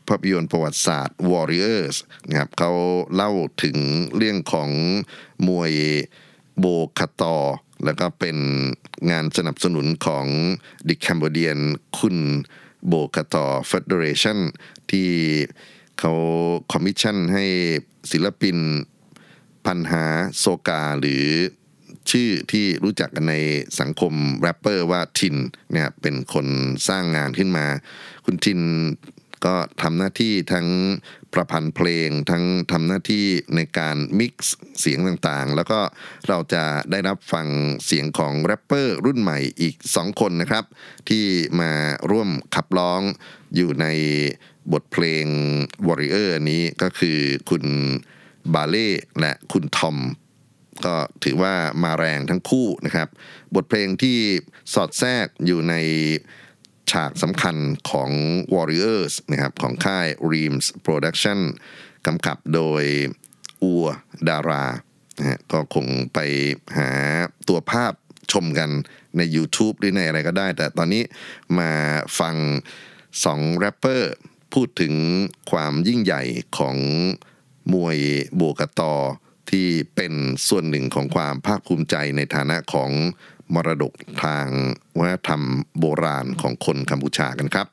ภาพยนตร์ประวัติศาสตร์ Warriors นะครับเขาเล่าถึงเรื่องของมวยโบคาตอแล้วก็เป็นงานสนับสนุนของ The Cambodian คุณโบคาตอ Federation ที่เขาคอมมิชชั่นให้ศิลปินพันหาโซกาหรือชื่อที่รู้จักกันในสังคมแรปเปอร์ว่าทินเนี่ยเป็นคนสร้างงานขึ้นมาคุณทินก็ทำหน้าที่ทั้งประพันธ์เพลงทั้งทำหน้าที่ในการมิกซ์เสียงต่างๆแล้วก็เราจะได้รับฟังเสียงของแรปเปอร์รุ่นใหม่อีกสองคนนะครับที่มาร่วมขับร้องอยู่ในบทเพลง Warrior นี้ก็คือคุณบาเล่และคุณทอมก็ถือว่ามาแรงทั้งคู่นะครับบทเพลงที่สอดแทรกอยู่ในฉากสำคัญของ Warriors นะครับของค่าย Reams Production กำกับโดยอัวดารานะฮะก็คงไปหาตัวภาพชมกันใน YouTube หรือในอะไรก็ได้แต่ตอนนี้มาฟังสองแรปเปอร์พูดถึงความยิ่งใหญ่ของมวยโบกาตอที่เป็นส่วนหนึ่งของความภาคภูมิใจในฐานะของมรดกทางวัฒนธรรมโบราณของคนกัมพูชากันครับ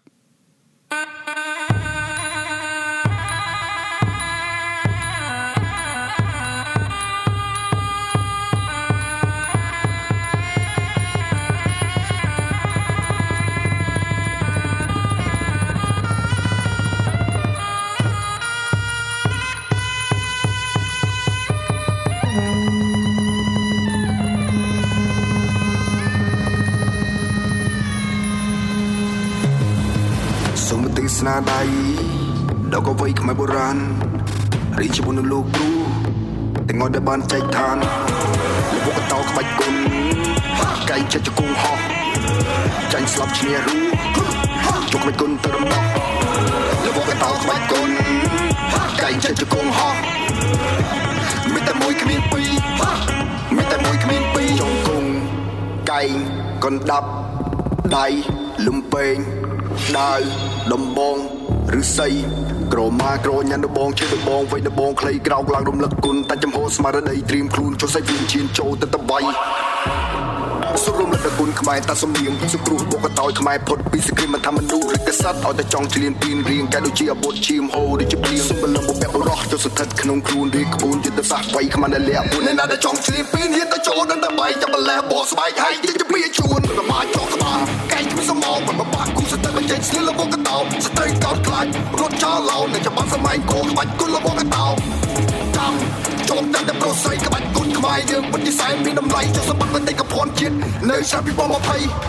ស្នាដៃដល់ក៏វ័យខ្មែរបុរាណរីជាមួយនឹងលោកគ្រូទាំងអស់ដែលបានចែកឋានលោកបកតោក្បាច់គុណកែងចិត្តជង្គង់ហោះចាញ់ស្លាប់ឈ្នះរូជុកក្បាច់គុណទៅរំដោះលោកបកតោក្បាច់គុណកែងចិត្តជង្គង់ហោះមានតែមួយគ្មានពីរមានតែមួយគ្មានពីរជង្គង់កែងកណ្ដាប់ដៃលំពេងដាវដំបងឬស័យក្រមាក្រញ៉ាំដបងជាដបងវៃដបងខ្លីក្រោកឡើងរំលឹកគុណតែចំហស្មារតីត្រៀមខ្លួនចុះសៃវិញ្ញាណចូលទៅតបៃសុរំលឹកគុណខ្មែរតាសំលៀងសុគ្រោះបកតោយខ្មែរផុតពីសក្តិមិនថាមនុស្សឬកសត្វឲ្យតែចង់ឆ្លៀនពីនរៀងកែដូចជាអាវុធឈាមហូរដូចជាព្រៀងសុំបលំបុព្វបុរសចុះសន្ធិដ្ឋក្នុងខ្លួនរៀបក្បួនយុទ្ធសាស្ត្រវៃខ្មែរដែលលះពួនអ្នកដែលចង់ឆ្លៀនពីនហ៊ានទៅចូលដល់តបៃចាំបលះបោះស្បែកហើយជាជាពីជួនប្រមាថចោះក្បាលកែងគ្មានសមងមិនបបាក់គូស្ទើបញ្ចេញស្លៀនលបកតោស្ត្រីកោតខ្លាចរត់ចោលឡោនៅច្បាប់សម័យកោក្បាច់គុណលបកតោចាំចូលតែតែប្រស័យក្បាច់គុណខ្មែរយើងពិតជាសែនមានតម្លៃចុះសម្បត្តិតែកភ័ណ្ឌជាតិនៅឆ្នាំពីរពាន់ยี่สิบ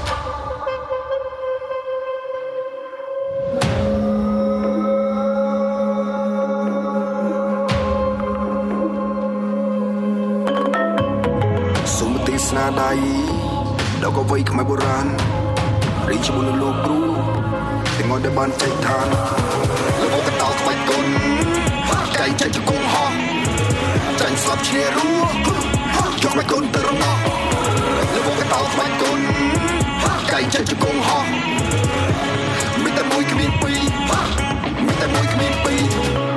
សុំទីស្នាដៃដល់ក៏វ័យខ្មែរបុរាណរីជាមួយនឹងលោកគ្រូទាំងអស់ដែលបានចែកឋានលោកបកតោក្បាច់គុណកែងចិត្តជង្គង់ហោះចាញ់ស្លាប់ឈ្នះរូយកក្បាច់គុណទៅរំដោះលោកបកតោក្បាច់គុណកែងចិត្តជង្គង់ហោះមានតែមួយគ្មានពីរមានតែមួយគ្មានពីរ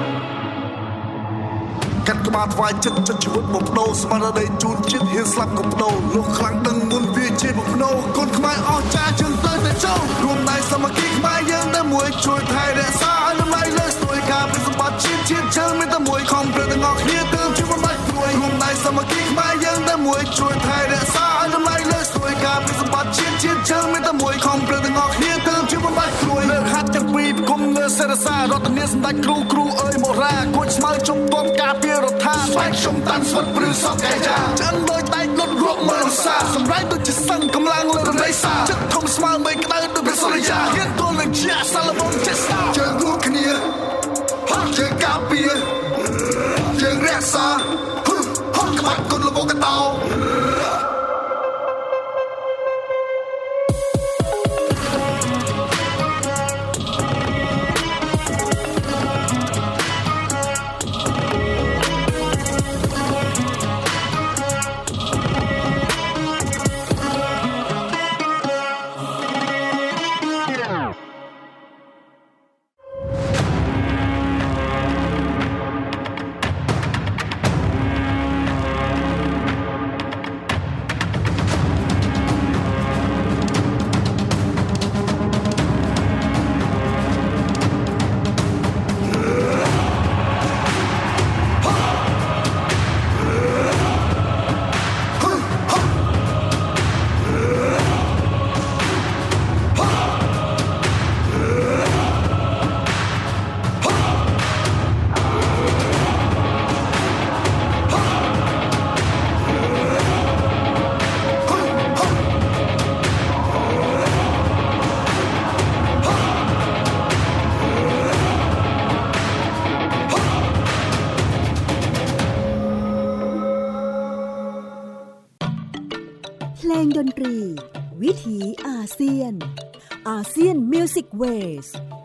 កាត់ក្បាលថ្វាយចិត្តចិត្តជីវិតបំដោស្មារតីជូនជាតិហ៊ានស្លាប់ក៏បដោលោកខ្លាំងដឹងមុនវាជាបំណោគុណខ្មែរអស់ចាជឿនទៅតែចូលរួមដៃសាមគ្គីខ្មែរយើងតែមួយជួយថែរក្សាឲ្យតម្លៃលើស្ទួយការពិសម្បត្តិជាតិជាតិជើងមានតែមួយខំប្រឹងទាំងអស់គ្នាទើបជួយបំបត្តិព្រួយរួមដៃសាមគ្គីខ្មែរយើងតែមួយជួយថែរក្សាឲ្យតម្លៃលើស្ទួយការពិសម្បត្តិជាតិជាតិជើងមានតែមួយខំប្រឹងទាំងអស់គ្នាទើបជួយបំបត្តិព្រួយលើហាត់ទាំងពីរគុំលើសេរសាររតនាសម្ដេចគ្រូគ្រូអើយមរាគួចស្មៅជុំពំការពាររដ្ឋាស្វែងខ្ញុំតាន់ស្វិតព្រឺសពកែចាចិនដោយដៃលុតរកមើលសាសម្រាប់ដូចជាសឹងកម្លាំងលើរដីសាចិត្តធំស្មើមេក្តៅដូចព្រះសូរិយាហ៊ានទល់នឹងជាសាឡូមនចេះស្ដាជើងរួចគ្នាជើងការពារជើងរក្សាហត់ក្បាច់គុណលបកតោลงดนตรีวิถีอาเซียนอาเซียนมิวสิกเวส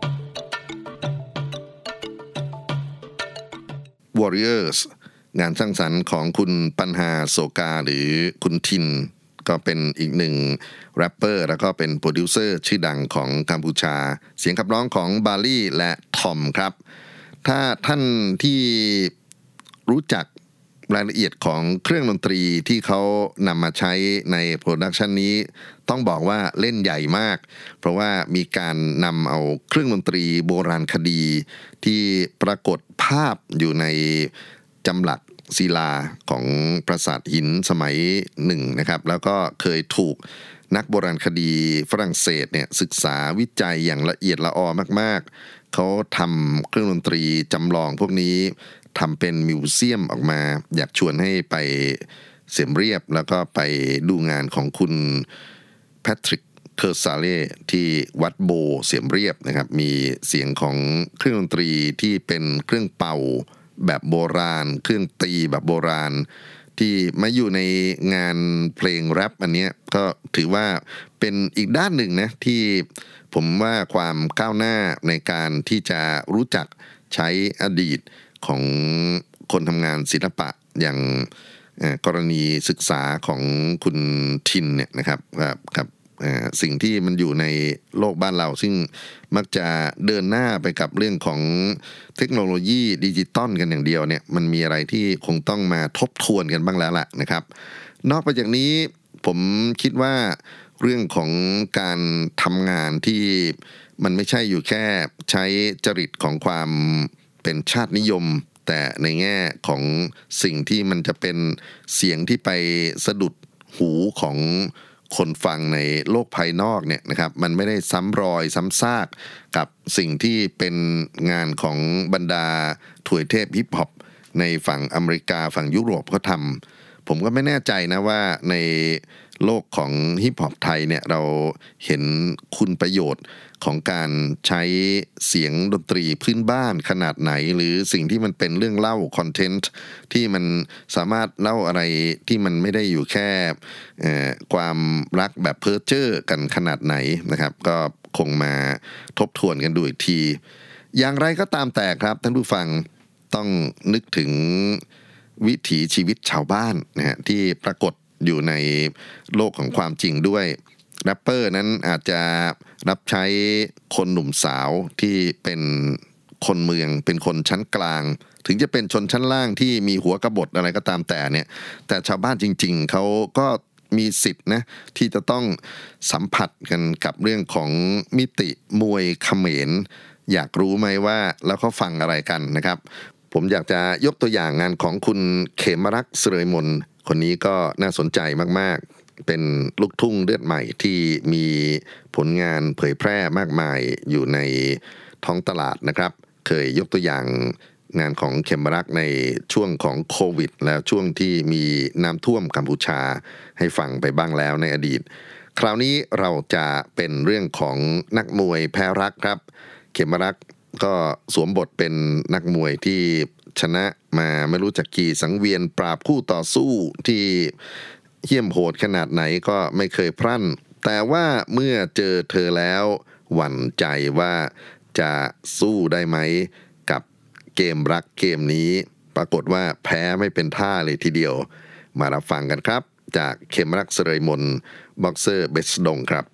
Warriors งานสร้างสรรค์ของคุณปัญหาโสกาหรือคุณทินก็เป็นอีกหนึ่งแรปเปอร์แล้วก็เป็นโปรดิวเซอร์ชื่อดังของกัมพูชาเสียงขับร้องของบาลี่และทอมครับถ้าท่านที่รู้จักรายละเอียดของเครื่องดนตรีที่เขานำมาใช้ในโปรดักชันนี้ต้องบอกว่าเล่นใหญ่มากเพราะว่ามีการนำเอาเครื่องดนตรีโบราณคดีที่ปรากฏภาพอยู่ในจำหลักศิลาของปราสาทหินสมัยหนึ่งนะครับแล้วก็เคยถูกนักโบราณคดีฝรั่งเศสเนี่ยศึกษาวิจัยอย่างละเอียดละออมากๆเขาทำเครื่องดนตรีจำลองพวกนี้ทำเป็นมิวเซียมออกมาอยากชวนให้ไปเสียมเรียบแล้วก็ไปดูงานของคุณแพทริกเคอร์ซาเล่ที่วัดโบเสียมเรียบนะครับมีเสียงของเครื่องดนตรีที่เป็นเครื่องเป่าแบบโบราณเครื่องตีแบบโบราณที่มาอยู่ในงานเพลงแรปอันนี้ก็ถือว่าเป็นอีกด้านหนึ่งนะที่ผมว่าความก้าวหน้าในการที่จะรู้จักใช้อดีตของคนทำงานศิลปะอย่างกรณีศึกษาของคุณทินเนี่ยนะครับกับสิ่งที่มันอยู่ในโลกบ้านเราซึ่งมักจะเดินหน้าไปกับเรื่องของเทคโนโลยีดิจิตอลกันอย่างเดียวเนี่ยมันมีอะไรที่คงต้องมาทบทวนกันบ้างแล้วล่ะนะครับนอกไปจากนี้ผมคิดว่าเรื่องของการทำงานที่มันไม่ใช่อยู่แค่ใช้จริตของความเป็นชาตินิยมแต่ในแง่ของสิ่งที่มันจะเป็นเสียงที่ไปสะดุดหูของคนฟังในโลกภายนอกเนี่ยนะครับมันไม่ได้ซ้ำรอยซ้ำซากกับสิ่งที่เป็นงานของบรรดาถวยเทพฮิปฮอปในฝั่งอเมริกาฝั่งยุโรปเขาทำผมก็ไม่แน่ใจนะว่าในโลกของฮิปฮอปไทยเนี่ยเราเห็นคุณประโยชน์ของการใช้เสียงดนตรีพื้นบ้านขนาดไหนหรือสิ่งที่มันเป็นเรื่องเล่าคอนเทนต์ที่มันสามารถเล่าอะไรที่มันไม่ได้อยู่แค่ความรักแบบเพ้อเจ้อกันขนาดไหนนะครับก็คงมาทบทวนกันดูอีกทีอย่างไรก็ตามแต่ครับท่านผู้ฟังต้องนึกถึงวิถีชีวิตชาวบ้านนะฮะที่ปรากฏอยู่ในโลกของความจริงด้วยแรปเปอร์นั้นอาจจะรับใช้คนหนุ่มสาวที่เป็นคนเมืองเป็นคนชั้นกลางถึงจะเป็นชนชั้นล่างที่มีหัวกบฏอะไรก็ตามแต่เนี่ยแต่ชาวบ้านจริงๆเขาก็มีสิทธิ์นะที่จะต้องสัมผัสกันกับเรื่องของมิติมวยเขมรอยากรู้ไหมว่าแล้วเขาฟังอะไรกันนะครับผมอยากจะยกตัวอย่างงานของคุณเขมรักษ์เสรยมนคนนี้ก็น่าสนใจมากๆเป็นลูกทุ่งเลือดใหม่ที่มีผลงานเผยแพร่มากมายอยู่ในท้องตลาดนะครับเคยยกตัวอย่างงานของเขมรักษ์ในช่วงของโควิดแล้วช่วงที่มีน้ำท่วมกัมพูชาให้ฟังไปบ้างแล้วในอดีตคราวนี้เราจะเป็นเรื่องของนักมวยแพ้รักครับเขมรักษ์ก็สวมบทเป็นนักมวยที่ชนะมาไม่รู้จักกี่สังเวียนปราบคู่ต่อสู้ที่เหี้ยมโหดขนาดไหนก็ไม่เคยพรั่นแต่ว่าเมื่อเจอเธอแล้วหวั่นใจว่าจะสู้ได้ไหมกับเกมรักเกมนี้ปรากฏว่าแพ้ไม่เป็นท่าเลยทีเดียวมารับฟังกันครับจากเขมรักษ์เสรยมนบ็อกเซอร์เบสดงครับ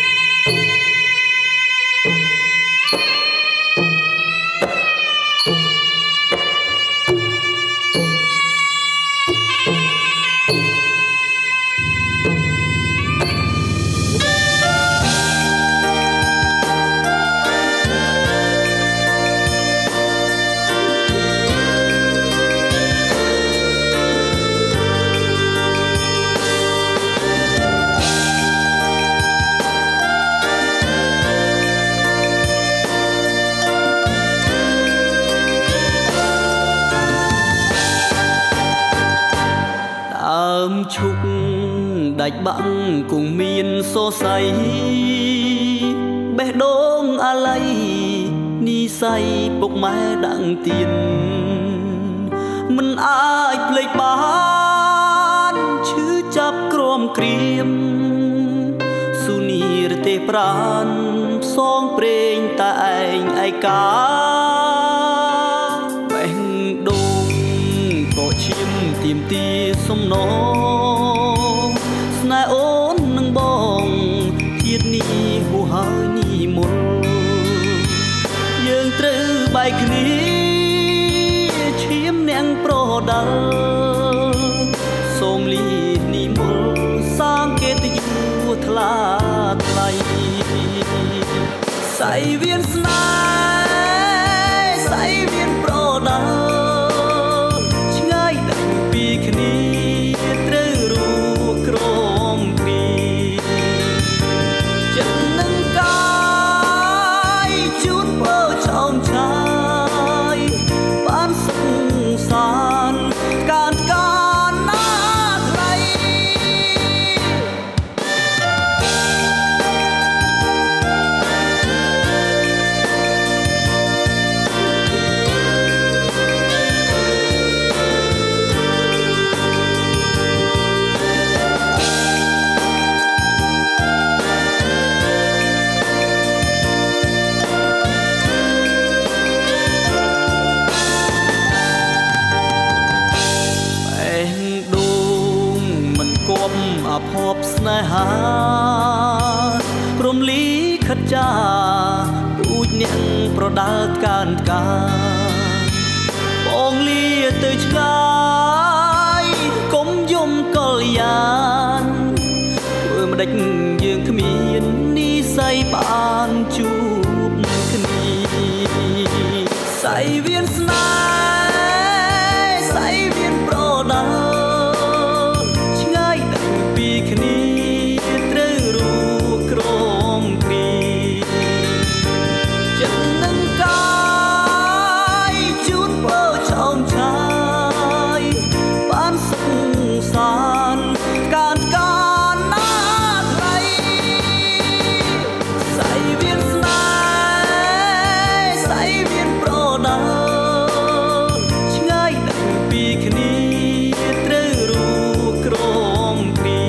Thank you. ឈុកដាច់បាំងគង់មានសរសៃបេះដូងអាល័យនីស័យពុកម៉ែដាំងទៀនមិនអាចភ្លេចបានឈឺចាប់ក្រំក្រៀមសុនីរទេប្រានផ្សងព្រេងតែឯងឯកាបេះដូងក៏ឈាមទៀមទាសំណងស្នេហ៍អូននឹងបងជាតិនេះហួហើយនេះមុនយើងត្រូវបែកគ្នាឈាមនាងប្រដាល់សូមលីនេះមុនសាងកិត្តិយសថ្លាថ្លៃសៃវៀនស្នេហ៍សៃវៀនប្រដាល់ឆ្ងាយដាច់ពីគ្នាត្រូវរួក្រមគ្នាចិត្តនឹងកាយជូនពោចោមឆាយបានសុខសានការការណាថ្លៃអភ័ព្វស្នេហាព្រមលីខិតចាពូជអ្នកប្រដាល់កានកាបងលាទៅឆ្ងាយកុំយំកលយានធ្វើម្ដេចយើងគ្មាននិស័យបានជួបគ្នាសៃវៀនស្នេហ៍សៃវៀនប្រដាល់គ្នាត្រូវរួក្រមគ្នាចិត្តនឹងកាយជូនពោចោមឆាយបានសុខសានការការណាថ្លៃសៃវៀនស្នេហ៍សៃវៀនប្រដាល់ឆ្ងាយដាច់ពីគ្នាត្រូវរួក្រមគ្នា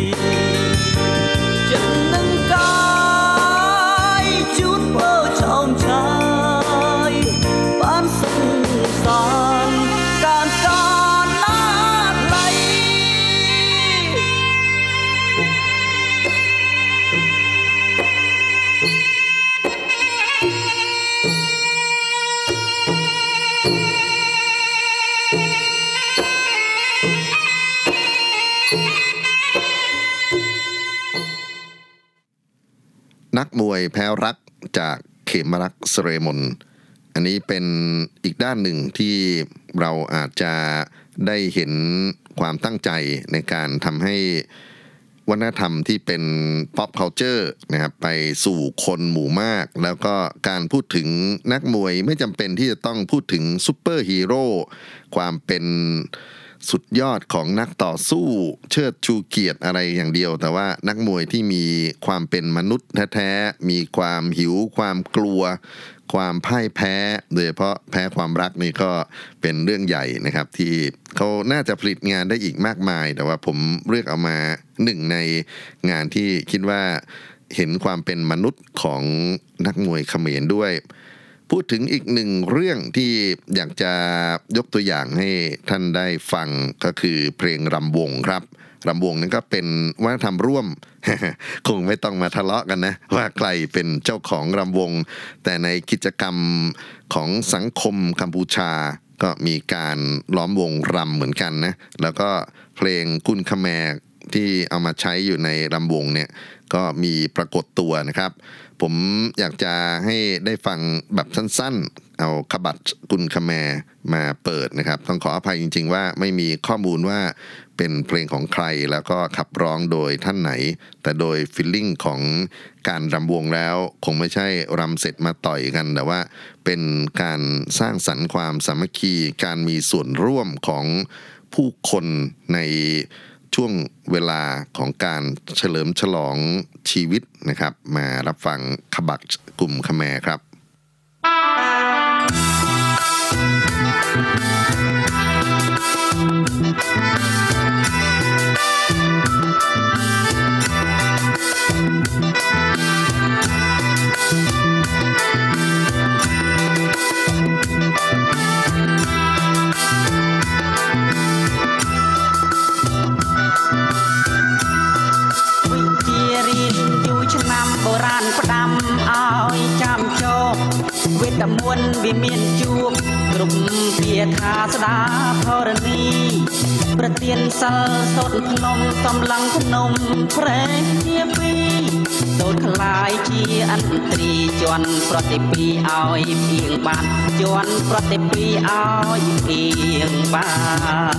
นักมวยแพ้รักจากเขมรักษ์ เสรมนอันนี้เป็นอีกด้านหนึ่งที่เราอาจจะได้เห็นความตั้งใจในการทำให้วัฒนธรรมที่เป็น pop culture นะครับไปสู่คนหมู่มากแล้วก็การพูดถึงนักมวยไม่จำเป็นที่จะต้องพูดถึงซุปเปอร์ฮีโร่ความเป็นสุดยอดของนักต่อสู้เชิดชูเกียรติอะไรอย่างเดียวแต่ว่านักมวยที่มีความเป็นมนุษย์แท้ๆมีความหิวความกลัวความพ่ายแพ้โดยเฉพาะแพ้ความรักนี่ก็เป็นเรื่องใหญ่นะครับที่เขาน่าจะผลิตงานได้อีกมากมายแต่ว่าผมเลือกเอามาหนึ่งในงานที่คิดว่าเห็นความเป็นมนุษย์ของนักมวยเขมรด้วยพูดถึงอีกหนึ่งเรื่องที่อยากจะยกตัวอย่างให้ท่านได้ฟังก็คือเพลงรำวงครับรำวงนั้นก็เป็นวัฒนธรรมร่วม คงไม่ต้องมาทะเลาะกันนะว่าใครเป็นเจ้าของรำวงแต่ในกิจกรรมของสังคมกัมพูชาก็มีการล้อมวงรำเหมือนกันนะแล้วก็เพลงกุนคแมร์ที่เอามาใช้อยู่ในรำวงเนี่ยก็มีปรากฏตัวนะครับผมอยากจะให้ได้ฟังแบบสั้นๆเอาขบัดกุนคแมร์มาเปิดนะครับต้องขออภัยจริงๆว่าไม่มีข้อมูลว่าเป็นเพลงของใครแล้วก็ขับร้องโดยท่านไหนแต่โดยฟีลลิ่งของการรำวงแล้วคงไม่ใช่รำเสร็จมาต่อยกันแต่ว่าเป็นการสร้างสรรค์ความสามัคคีการมีส่วนร่วมของผู้คนในช่วงเวลาของการเฉลิมฉลองชีวิตนะครับมารับฟังขบักกลุ่มขแมครับแต่มวลวิเมียนจูบกลุ่มเพียคาสดาธรณีประเตียนสัลสดพนมตำลังพนมแพร่เทียปีโดดคลายเชียอันตรีจวนประติปีเอาเพียงบานจวนประติปีเอาเพียงบาน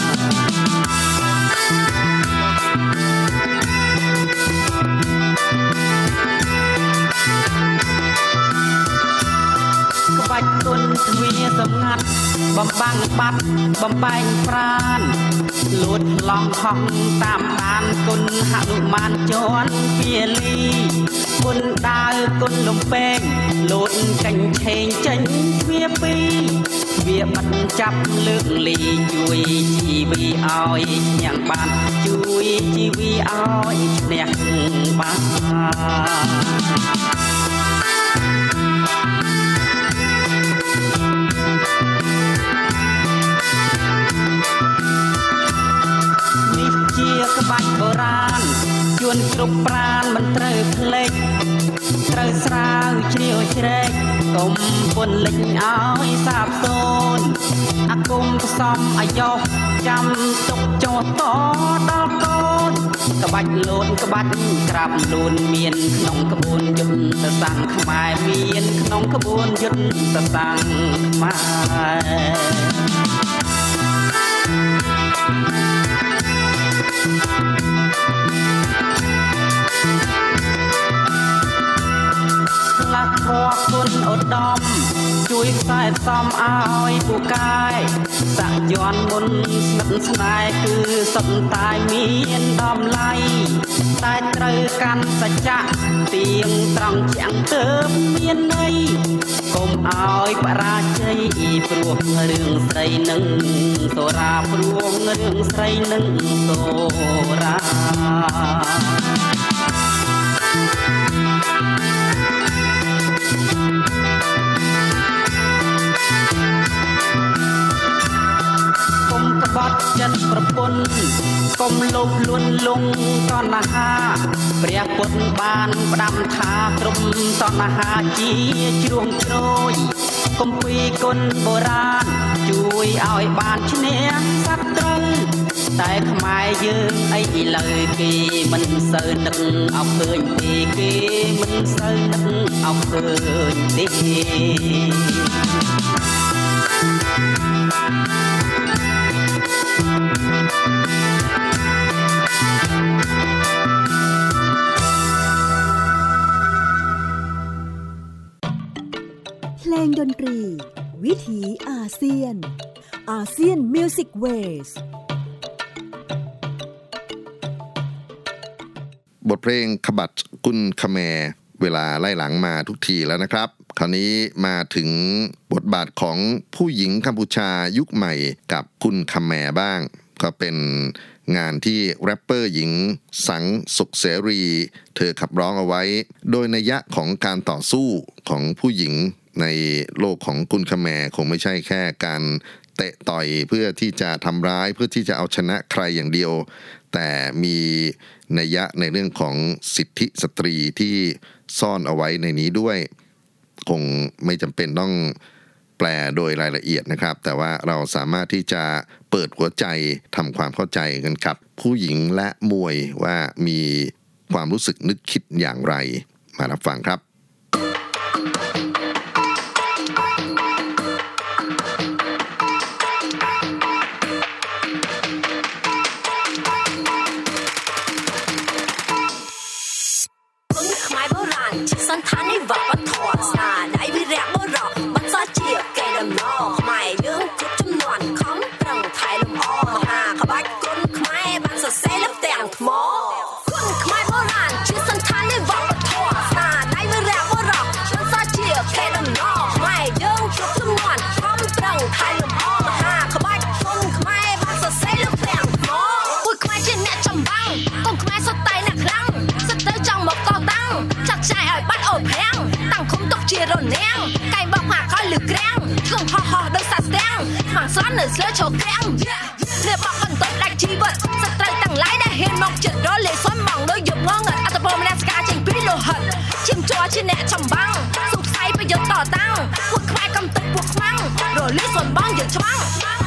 บัดตุนทวีสมงัดบำบังปัดบำแบงปราณหลุดลองห้องตามบานตุนหนุมานจวนเปียลีบุญดาวตุนลมเป้งหลุดกันเชงจังเวียปีเวียบัดจับเลือกลีจุยชีวีอ้อยอย่างบานจุยชีวีอ้อยเนี่ยบานนี่เชียกบัดโบราณชวนกรุบปราณมันเตรเพลกเตรสราวเชียวเชรกกลมบนเล็กอ้อยสาบโซนอากมผสมอายกจำตกโจต่อดอกโกนกบัดโลนกบัดกราบลูนเมียนขนมขบวนยุดตะสังขมายเมียนขนมขบวนยุดตะสังขมายลักพอคุณอดดอมช่วยใส่ซ้อมอ้อยปูกายสักย้อนมุนสนับสนายคือสมตายเมียนดอมไล่ตายเตรกันสัจจะเตียงตรังเฉียงเติมเมียนในกลมอ้อยปราชัยปลวกเรื่องใส่หนึ่งโซราปลวกเรื่องใส่หนึ่งโซราบอดจัดประปนกลมลบล้วนลงตอนนาหาเปรียบปนบานประดำทากลมตอนนาหาจีจวงโจยกลมปีกลโบราณช่วยเอาไอ้บานชเนียสักตรึงแต่ขมายยืมไอ้เลยกีมันเสือนึกเอาเกินตีกีมันเสือนึกเอาเกินตีเพลงดนตรีวิถีอาเซียนอาเซียนมิวสิกเวสบทเพลงขบัดกุนขแมเวลาไล่หลังมาทุกทีแล้วนะครับคราวนี้มาถึงบทบาทของผู้หญิงกัมพูชายุคใหม่กับกุนขแมบ้างก็เป็นงานที่แรปเปอร์หญิงสังสุขเสรีเธอขับร้องเอาไว้โดยนัยยะของการต่อสู้ของผู้หญิงในโลกของกุนขแมคงไม่ใช่แค่การเตะต่อยเพื่อที่จะทำร้ายเพื่อที่จะเอาชนะใครอย่างเดียวแต่มีนัยยะในเรื่องของสิทธิสตรีที่ซ่อนเอาไว้ในนี้ด้วยคงไม่จำเป็นต้องแปลโดยรายละเอียดนะครับแต่ว่าเราสามารถที่จะเปิดหัวใจทำความเข้าใจกันกับผู้หญิงและมวยว่ามีความรู้สึกนึกคิดอย่างไรมารับฟังครับสันทานในวัดปฐมสาได้วิแรกบ่รอมันซอเจียแกดำนอหมายเรื่องจุดจำนวนของตรังไทยลมอ้อมหาขบัดก้นขมายบ้านส hộp hang tăng không tốc chia rồi ngang cày bọc hạt coi lử keng không ho ho đôi sạt steng mảng xoắn nở sữa trầu keng nè bọc phần tốt đại chi vật sắt tay tăng lái đã hiền mọc chật đó lệ xoắn mỏng đôi dục ngon ngật at the bottom let's go chỉnh pít lô hận chim chó trên nẹ trầm băng sụp say bây giờ tỏ tăng buộc khai cầm tật buộc măng rồi lít xuân băng giờ choáng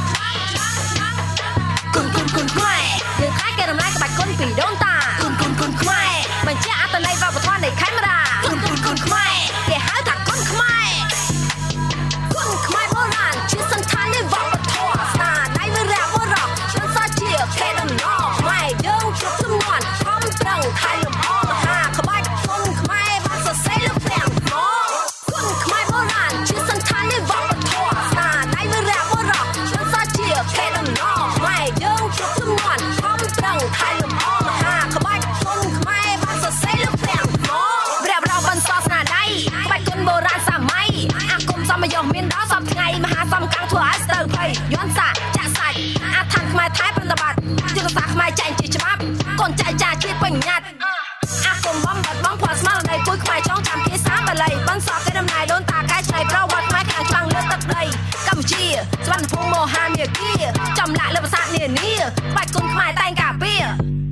cùn cùn cùn khoai giờ khai kê đầm lai bạch con phỉ đôn ta cùn cùn cùn khoai mình chia at the này vào bờ thoa để khai mà ra cùn cùn cùn khoai kê hái thạc con khoai cùn khoai bố ràn chia sân than lên vào bờ thoa sa đây với rạ bố rọ chân sa chia kê đầm nọ khoai đương chụp chum ngoan không đằng khai lùm o mà hà khờ bạch cùn khoai bắt sờ say lùm phèn mò cùn khoai bố ràn chia sân than lên vào bờ thoa sa đây với rạ bố rọ chân sa chia kê đầm nọ khoai đương chụp chum ngoan không đằng khai lùm o mà hà khờ bạch cùn khoai bắt sờ say lùm phèn mò rạ bờ rọ bần so sa đây bạch cùn bố ràn sa maiอาคมซ้อมมายองเมียนดาวซ้อมไงมหาซ้อมกลางทั่วไอสเตอร์เพย์ย้อนสายจะใส่อาทางขมายท้ายปฏิบัติจึงสาขมายใจจีฉบับก่อนใจจ่าชีพเป็นยัดอาคมบ้องบัดบ้องพอสมาในปุ้ยขมายช่องจำที่สามไปเลยบ้านสอบได้ดำนายโดนตาใกล้ใจประวัติขมายกลางกลางเลือดตัดเลยกัมพูชีสวรรค์พงโมฮาเมียกี้จำละเลือดประสาทเนี่ยนี่ปัดกุนขมายแต่งกาเปีย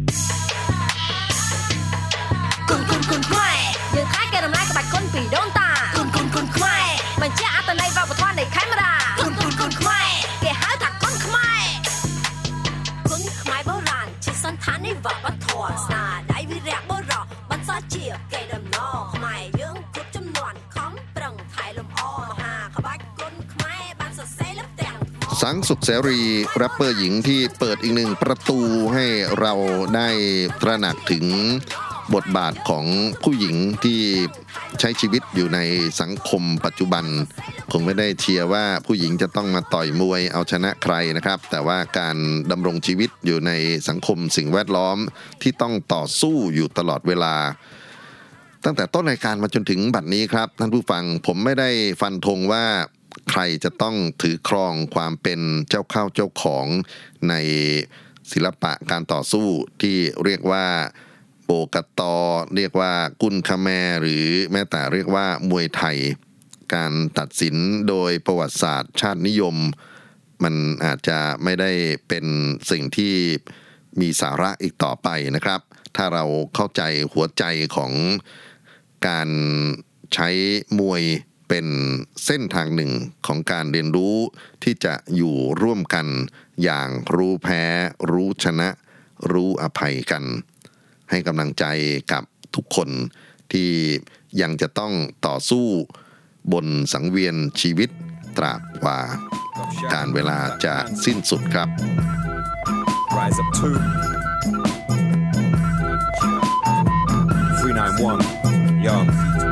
กุนกุนกุนขมายยืนคล้ายแกดำนายกับปัดกุนปีโดนตากุนกุนกุนขมายมันเจ้าอัตในvàoบทว่าในแคมราคุณคุณคุณขมายแกหาถักคนขมายคุณขมายโบราณชิสันทานในว่าบัดทอสาได้วิแรกโบรอบัดซาเจียแกดำนอขมายยืงทุกจำนวนคำปรังไทยลมอ้อมหาขบัดคุณขมายบัดสดใสลับแต่งสังสุขเสรีแรปเปอร์หญิงที่เปิดอีกหนึ่งประตูให้เราได้ตระหนักถึงบทบาทของผู้หญิงที่ใช้ชีวิตอยู่ในสังคมปัจจุบันคงไม่ได้เชียร์ว่าผู้หญิงจะต้องมาต่อยมวยเอาชนะใครนะครับแต่ว่าการดำรงชีวิตอยู่ในสังคมสิ่งแวดล้อมที่ต้องต่อสู้อยู่ตลอดเวลาตั้งแต่ต้นรายการมาจนถึงบัดนี้ครับท่านผู้ฟังผมไม่ได้ฟันธงว่าใครจะต้องถือครองความเป็นเจ้าเข้าเจ้าของในศิลปะการต่อสู้ที่เรียกว่าโบกัตตอเรียกว่ากุนคาแมหรือแม้แต่เรียกว่ามวยไทยการตัดสินโดยประวัติศาสตร์ชาตินิยมมันอาจจะไม่ได้เป็นสิ่งที่มีสาระอีกต่อไปนะครับถ้าเราเข้าใจหัวใจของการใช้มวยเป็นเส้นทางหนึ่งของการเรียนรู้ที่จะอยู่ร่วมกันอย่างรู้แพ้รู้ชนะรู้อภัยกันให้กำลังใจกับทุกคนที่ยังจะต้องต่อสู้บนสังเวียนชีวิตตราบกว่าการเวลาจะสิ้นสุดครับ Rise up two three nine one Young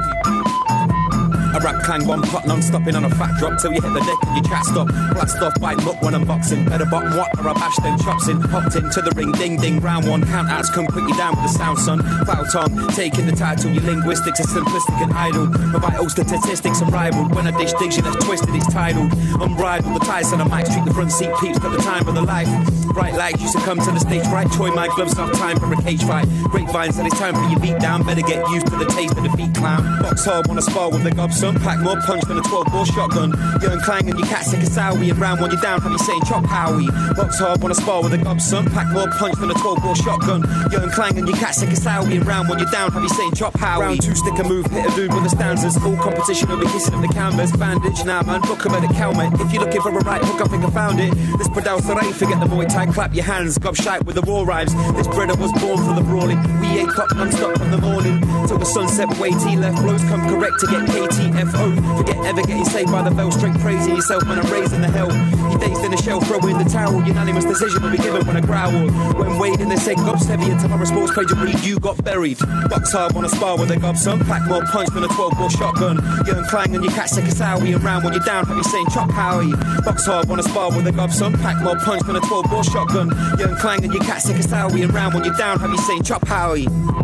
I rap clang one pot non-stopping on a fat drop till you hit the deck and your chat stop. Blast off by muck when I'm boxing. Better bottom what or I bash them chops in. Hopped into the ring, ding ding, round one. Count outs come quick you down with the sound son. Foul tongue, taking the title. Your linguistics are simplistic and idle. My vital statistics unrivaled. When I dish digs you that's twisted, it's tidal. Unbridled, the ties on the mic. Treat the front seat peeps, got the time of the life. Bright lights used to come to the stage right. Toy my gloves, not time for a cage fight. Grapevine said it's time for your beat down. Better get used to the taste of defeat, clown. Box hard, wanna spar with the gobson. Pack more punch than a twelve bore shotgun. Young Clang and your cat sick of sowie. And round when you're down, have you saying chop howie. Box hard, wanna spar with a gobson. Pack more punch than a twelve bore shotgun. Young Clang and your cat sick of sowie. And round when you're down, have you saying chop howie. Round two, stick a move, hit a dude with the stanzas. Full competition, will be kissing up the canvas. Bandage now, man, book him at the helmet. If you're looking for a right hook, I think I found it. This producer ain't forget the Muay Thai, clap your hands. Gob shite with the raw rhymes. This brother was born for the brawling. We ate up non-stop from the morning till the sunset. Way T left blows come correct to get K T F O. Forget ever getting saved by the bell. Straight praising yourself when I'm raising the hell. You dazed in the shell, throw in the towel. Unanimous decision will be given when I growl. When wading, they say gobs heavy. And tomorrow sports page will read you got buried. Box hard, wanna spar with a gobson. Pack more punch than a twelve bore shotgun. Young Clang and your cat sick of sowie. And round when you're down, have you saying chop howie. Box hard, wanna spar with a gobson. Pack more punch than a twelve bore shotgun. Young Clang and your cat sick of sowie. And round when you're down, have you saying chop howie. You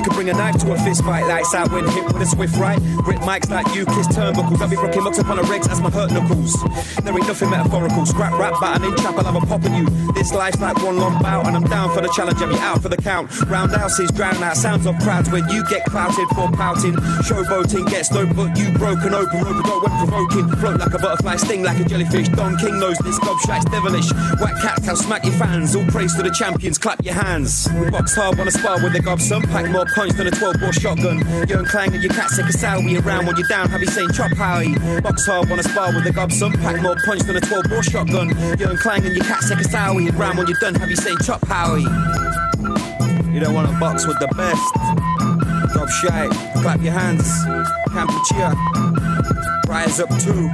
could bring a knife to a fist fight. Lights out when hit with a swift right. Grip mics like you kiss turnbuckles. I'll be rocking mucks upon the regs as my hurt knuckles. There ain't nothing metaphorical. Scrap rap battling trap, I'll have a pop at you. This life's like one long bout, and I'm down for the challenge. I'll be out for the count. Roundhouses drown out sounds of crowds when you get clouted for pouting. Showboating gets no but you broken open. Rope go when provoking. Float like a butterfly, sting like a jellyfish. Don King knows this gobshite's devilish. White cats can smack your fans. All praise to the champions, clap your hands. Box hard, wanna spar with the gobson. Pack more punch than a twelve bore shotgun. You're in clang and your cat sick of sowie around when you're down. Have you saying chop howie? Box hard, wanna spar with the gobson. Pack more punch than a twelve bore shotgun. You're in clang and your cat sick of sowie around when you're done. Have you saying chop howie? You don't wanna box with the best. Gobshite, clap your hands. Kampuchea, rise up too.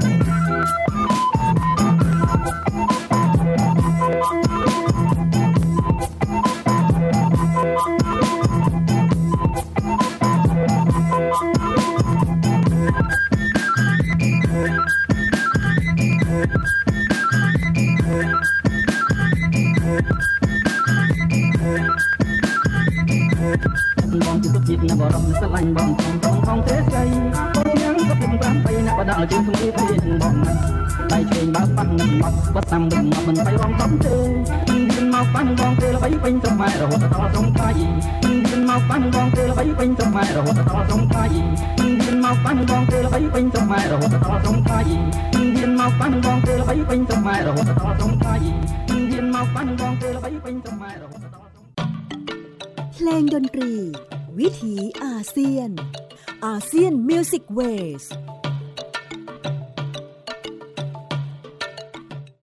Bong chỉ tốt việc là bỏ rộng sắt lạnh bong trong trong không thế say bong nhang có từng bám bay nè và đang là chuyện không biết tiền bong tay trên bao băng nằm mọc bắt nằm đừng mọc mình tay bong tóm tê điên mọc băng bong tê là bấy bênh trong mai rồi to sông ca gì điên mọc băng bong tê là bấy bênh trong mai rồi to sông ca gì điên mọc băng bong tê là bấy bênh trong mai rồi to sông ca gì điên mọc băng bong tê là bấy bênh trong mai rồi to sông ca gì điên mọc băng bong tê là bấy bênh trong mai rồi เพลงดนตรีวิถีอาเซียนอาเซียนมิวสิกเวส